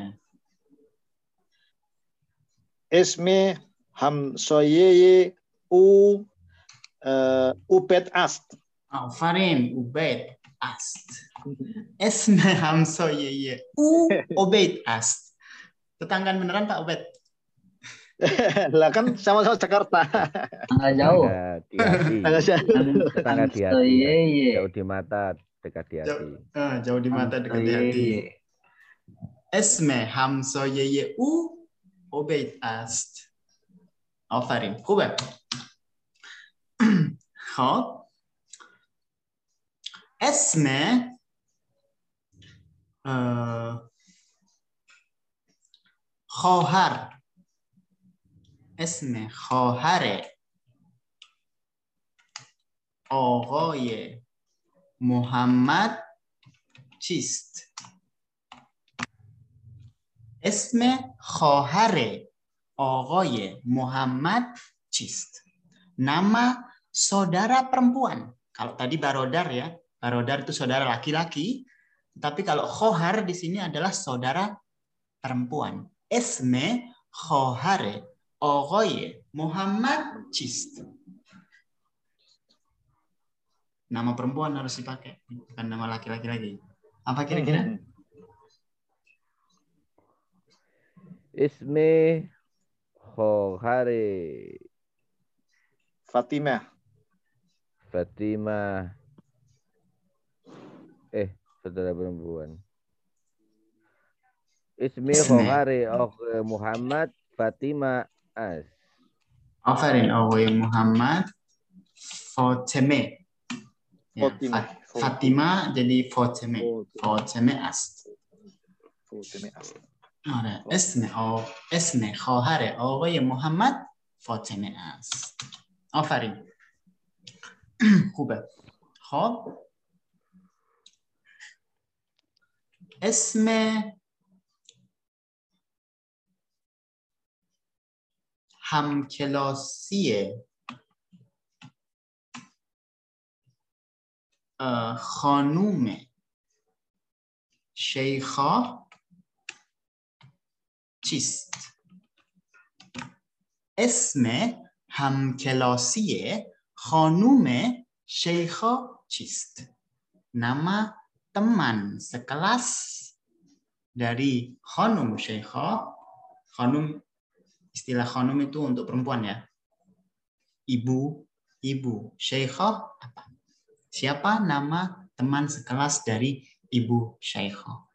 Esme hamsoyeye u uh, ubed ast. Oh, Farin Ubaid Ast. Esme hamsoyeye u Ubaid Ast. Tetanggaan beneran Pak Ubaid? Lah kan sama-sama Jakarta. Enggak jauh. Tetangga di hati. Tetangga di hati. Ya. Jauh di mata, dekat di hati. Jauh, uh, jauh di mata, dekat di hati. Esme hamsoyeye u Ubaid Ast. Oh, Farin. Ubaid. Hop. Esme uh, khohar. اسم خواهر آقای محمد چیست؟ اسم خواهر آقای محمد چیست؟ Nama saudara perempuan. Kalau tadi barodar ya, barodar itu saudara laki-laki, tapi kalau khohar di sini adalah saudara perempuan. Esme khohare آقای Muhammad چیست? Nama perempuan harus dipakai, bukan nama laki-laki lagi. Apa kira-kira? Ismi Khohari Fatimah. Fatimah. Eh, saudara perempuan. Ismi Ismi. Khohari Akhi Muhammad Fatima As. Afarin Akhi Muhammad Fatime. Ya, Fatima. Fat- Fatima jadi Fatime. Fatime As. Fatima As. آره اسم آ... اسم خواهر آقای محمد فاطمه است. آفرین. خوبه. خب اسم همکلاسی خانوم شیخا چیست؟ اسم همکلاسی خانوم شیخا چیست؟ Nama teman sekelas dari Khanum Syeikha. Khanum, istilah Khanum itu untuk perempuan ya. Ibu, ibu Syeikha apa? Siapa nama teman sekelas dari ibu Syeikha?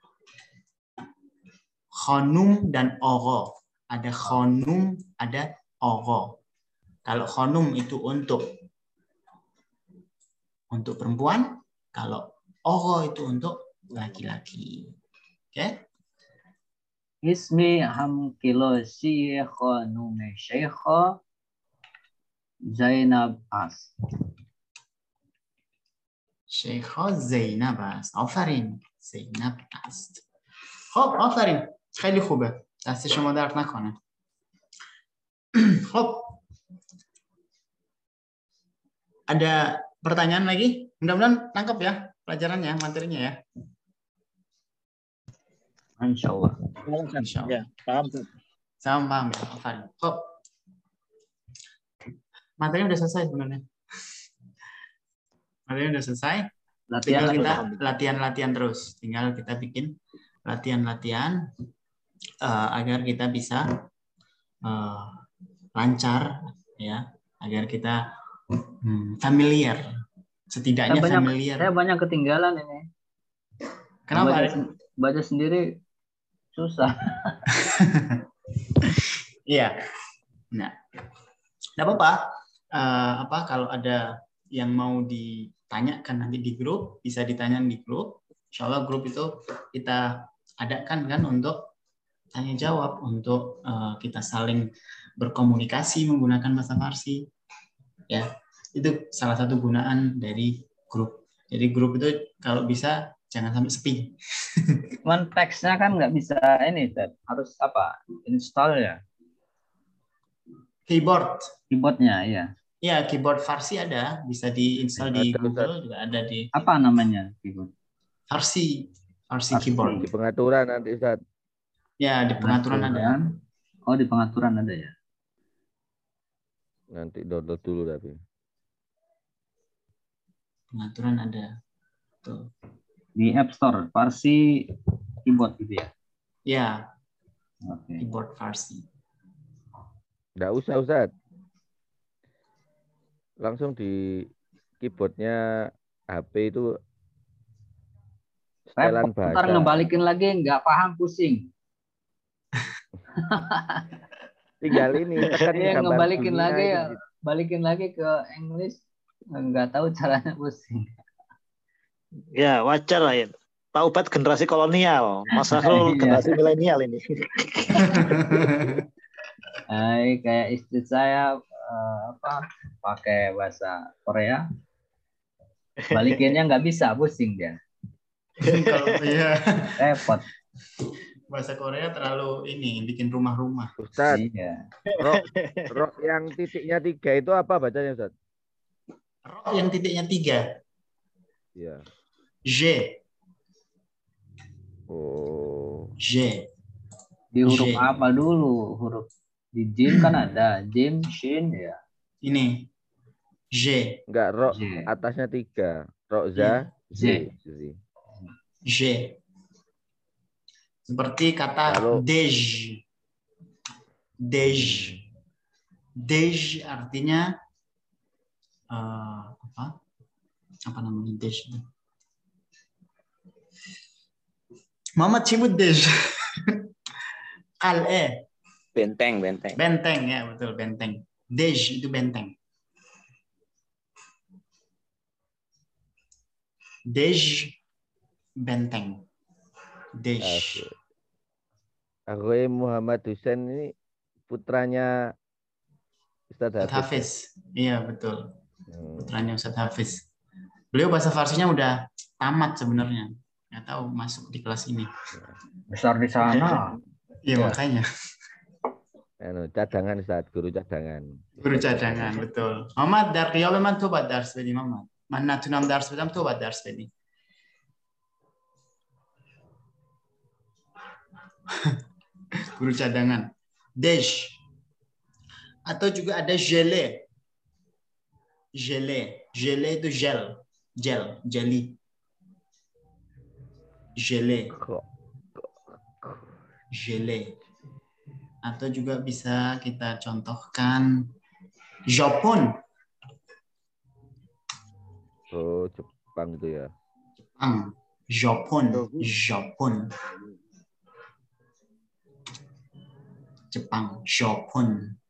Khanum dan Ogho. Ada Khanum, ada Ogho. Kalau Khanum itu untuk untuk perempuan, kalau Ogho itu untuk laki-laki. Oke? Okay? Ismi hamkilosi khanum Syeikha Zainab As. Syeikha Zainab As. آفرین. زینب است. خب آفرین. خیلی خوبه. دست شما درد نکنه. خب. Ada pertanyaan lagi? Mudah-mudahan tangkap ya pelajarannya, materinya ya. Insya Allah. Insya Allah. Ya, paham. Sama paham ya, Afan. Kok materinya udah selesai sebenarnya. Materinya udah selesai. Latihan Tinggal lagi. kita latihan-latihan terus. Tinggal kita bikin latihan-latihan uh, agar kita bisa uh, lancar ya, agar kita hmm, familiar. Setidaknya saya banyak, familiar. Saya banyak ketinggalan ini. Kenapa? Baca, baca sendiri susah. Iya. Nah, tidak apa-apa. Uh, apa kalau ada yang mau ditanyakan nanti di grup, bisa ditanya di grup. Insya Allah grup itu kita adakan kan untuk tanya jawab, untuk uh, kita saling berkomunikasi menggunakan bahasa Farsi. Ya, itu salah satu gunaan dari grup. Jadi grup itu kalau bisa jangan sampai sepi. Cuman teksnya kan nggak bisa ini, Ted. Harus apa? Install ya? Keyboard. Keyboardnya, iya. Ya, keyboard Farsi ada, bisa diinstal di Ada, Google Ustaz. juga ada di. Apa namanya keyboard? Farsi, Farsi Farsi. keyboard. Di pengaturan nanti Ustaz. Ya, di pengaturan ada. Oh, di pengaturan ada ya. Nanti download dulu tapi. Pengaturan ada. Tuh. Di App Store, Farsi keyboard gitu ya. Ya, Oke. keyboard Farsi. Nggak usah Ustaz. Langsung di keyboardnya H P itu setelan Repot, ntar bahasa. ngebalikin lagi nggak paham, pusing. Tinggal ini tekan Iya, gambar ngebalikin dunia lagi itu ya, gitu. balikin lagi ke English, nggak tahu caranya, pusing. Ya, wajar lah ya. Pak Ubat generasi kolonial, Mas Sahrul generasi milenial ini. Hai, kayak istri saya uh, apa pakai bahasa Korea, balikinnya nggak bisa, pusing dia. Kalau ya Repot. bahasa Korea terlalu ini bikin rumah-rumah. Ustaz, Iya. rok, rok yang titiknya tiga itu apa bacanya Ustaz? Rok yang titiknya tiga. Iya. J. Oh. J. Di huruf J. apa dulu? Huruf di jim kan ada, jim, shin ya. Ini J. Enggak, rok J. atasnya tiga. Rok za, J. z. J. Seperti kata Lalu, dej. Dej. Dej artinya uh, apa? Apa namanya dej? Muhammad Cimut dej. Qal'ah. Benteng, benteng. Benteng ya, betul, benteng. Dej itu benteng. Dej benteng. Dej. Aku Muhammad Hussein ini putranya Ustadz Ustadz Hafiz. Hafiz. Iya, betul. Hmm. Putranya Ustadz Hafiz. Beliau bahasa Farsinya udah tamat sebenarnya. Nggak tahu masuk di kelas ini. Besar di sana. Iya, Ya. makanya. Anu, cadangan Ustadz, guru cadangan. Guru cadangan, betul. Muhammad در قیاب من تو باید درس بدی محمد. من نتونم درس بدم تو باید درس بدی. Guru cadangan. Dej. Atau juga ada gele. Gele. Gele itu gel. Gel. Jelly. Gele. Gele. Atau juga bisa kita contohkan Jepun. Oh, Jepang itu ya. Jepang. Jepun. Jepun. Jepang. Jepun.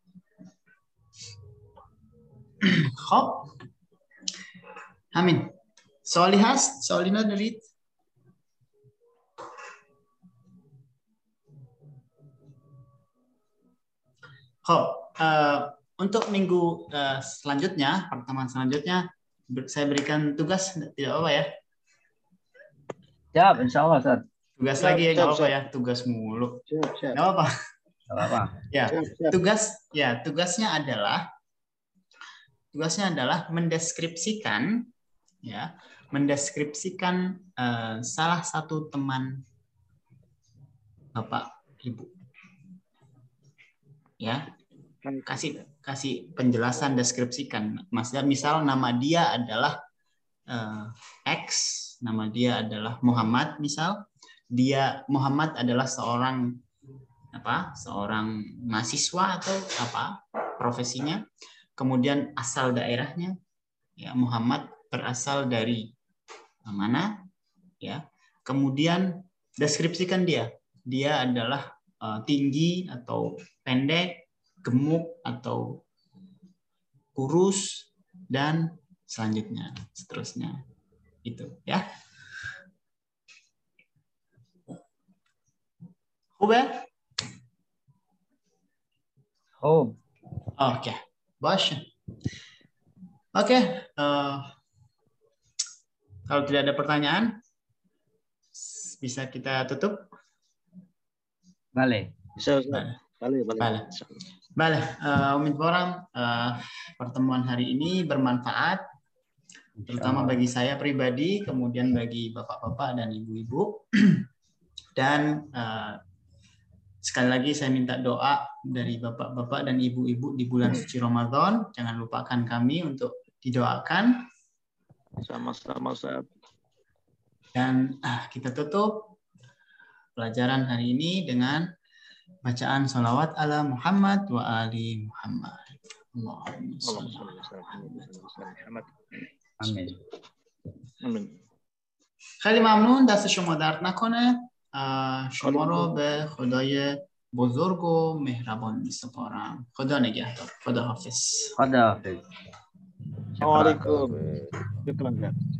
خب همین سوالی هست؟ سوالی ندارید؟ خب uh, untuk minggu uh, selanjutnya, pertemuan selanjutnya saya berikan tugas, tidak apa ya? Siap, insya Allah, Ustaz. Tugas Siap, lagi ya, siap, nggak apa siap. ya, tugas mulu. Siap, siap. Nggak apa. Nggak apa-apa. Ya, Siap, siap. tugas ya tugasnya adalah tugasnya adalah mendeskripsikan ya, mendeskripsikan uh, salah satu teman Bapak Ibu. Ya. Kasih kasih penjelasan, deskripsikan. Maksudnya misal nama dia adalah uh, X, nama dia adalah Muhammad misal. Dia Muhammad adalah seorang apa? Seorang mahasiswa atau apa? Profesinya. Kemudian asal daerahnya, ya Muhammad berasal dari mana? Ya. Kemudian deskripsikan dia. Dia adalah uh, tinggi atau pendek, gemuk atau kurus, dan selanjutnya seterusnya itu ya. Oke. Oh, Oke, baik. Oke, uh, kalau tidak ada pertanyaan, bisa kita tutup. balik. Bisa, bisa. Balik, balik. Balik. Baik, uh, Umidoran, uh, pertemuan hari ini bermanfaat, terutama bagi saya pribadi, kemudian bagi bapak-bapak dan ibu-ibu. Dan uh, sekali lagi saya minta doa dari bapak-bapak dan ibu-ibu di bulan suci Ramadan. Jangan lupakan kami untuk didoakan. Sama-sama, Ustaz. Dan uh, kita tutup pelajaran hari ini dengan bacaan salawat ala Muhammad wa ali Muhammad. Allahumma shalli ala Muhammad. Amin. Amin. خیلی ممنون، دست شما درد نکنه. شما رو به خدای بزرگ و مهربان می سپارم. خدا نگهدار. خدا حافظ. خدا حافظ. Assalamualaikum. Syukran, Ustaz.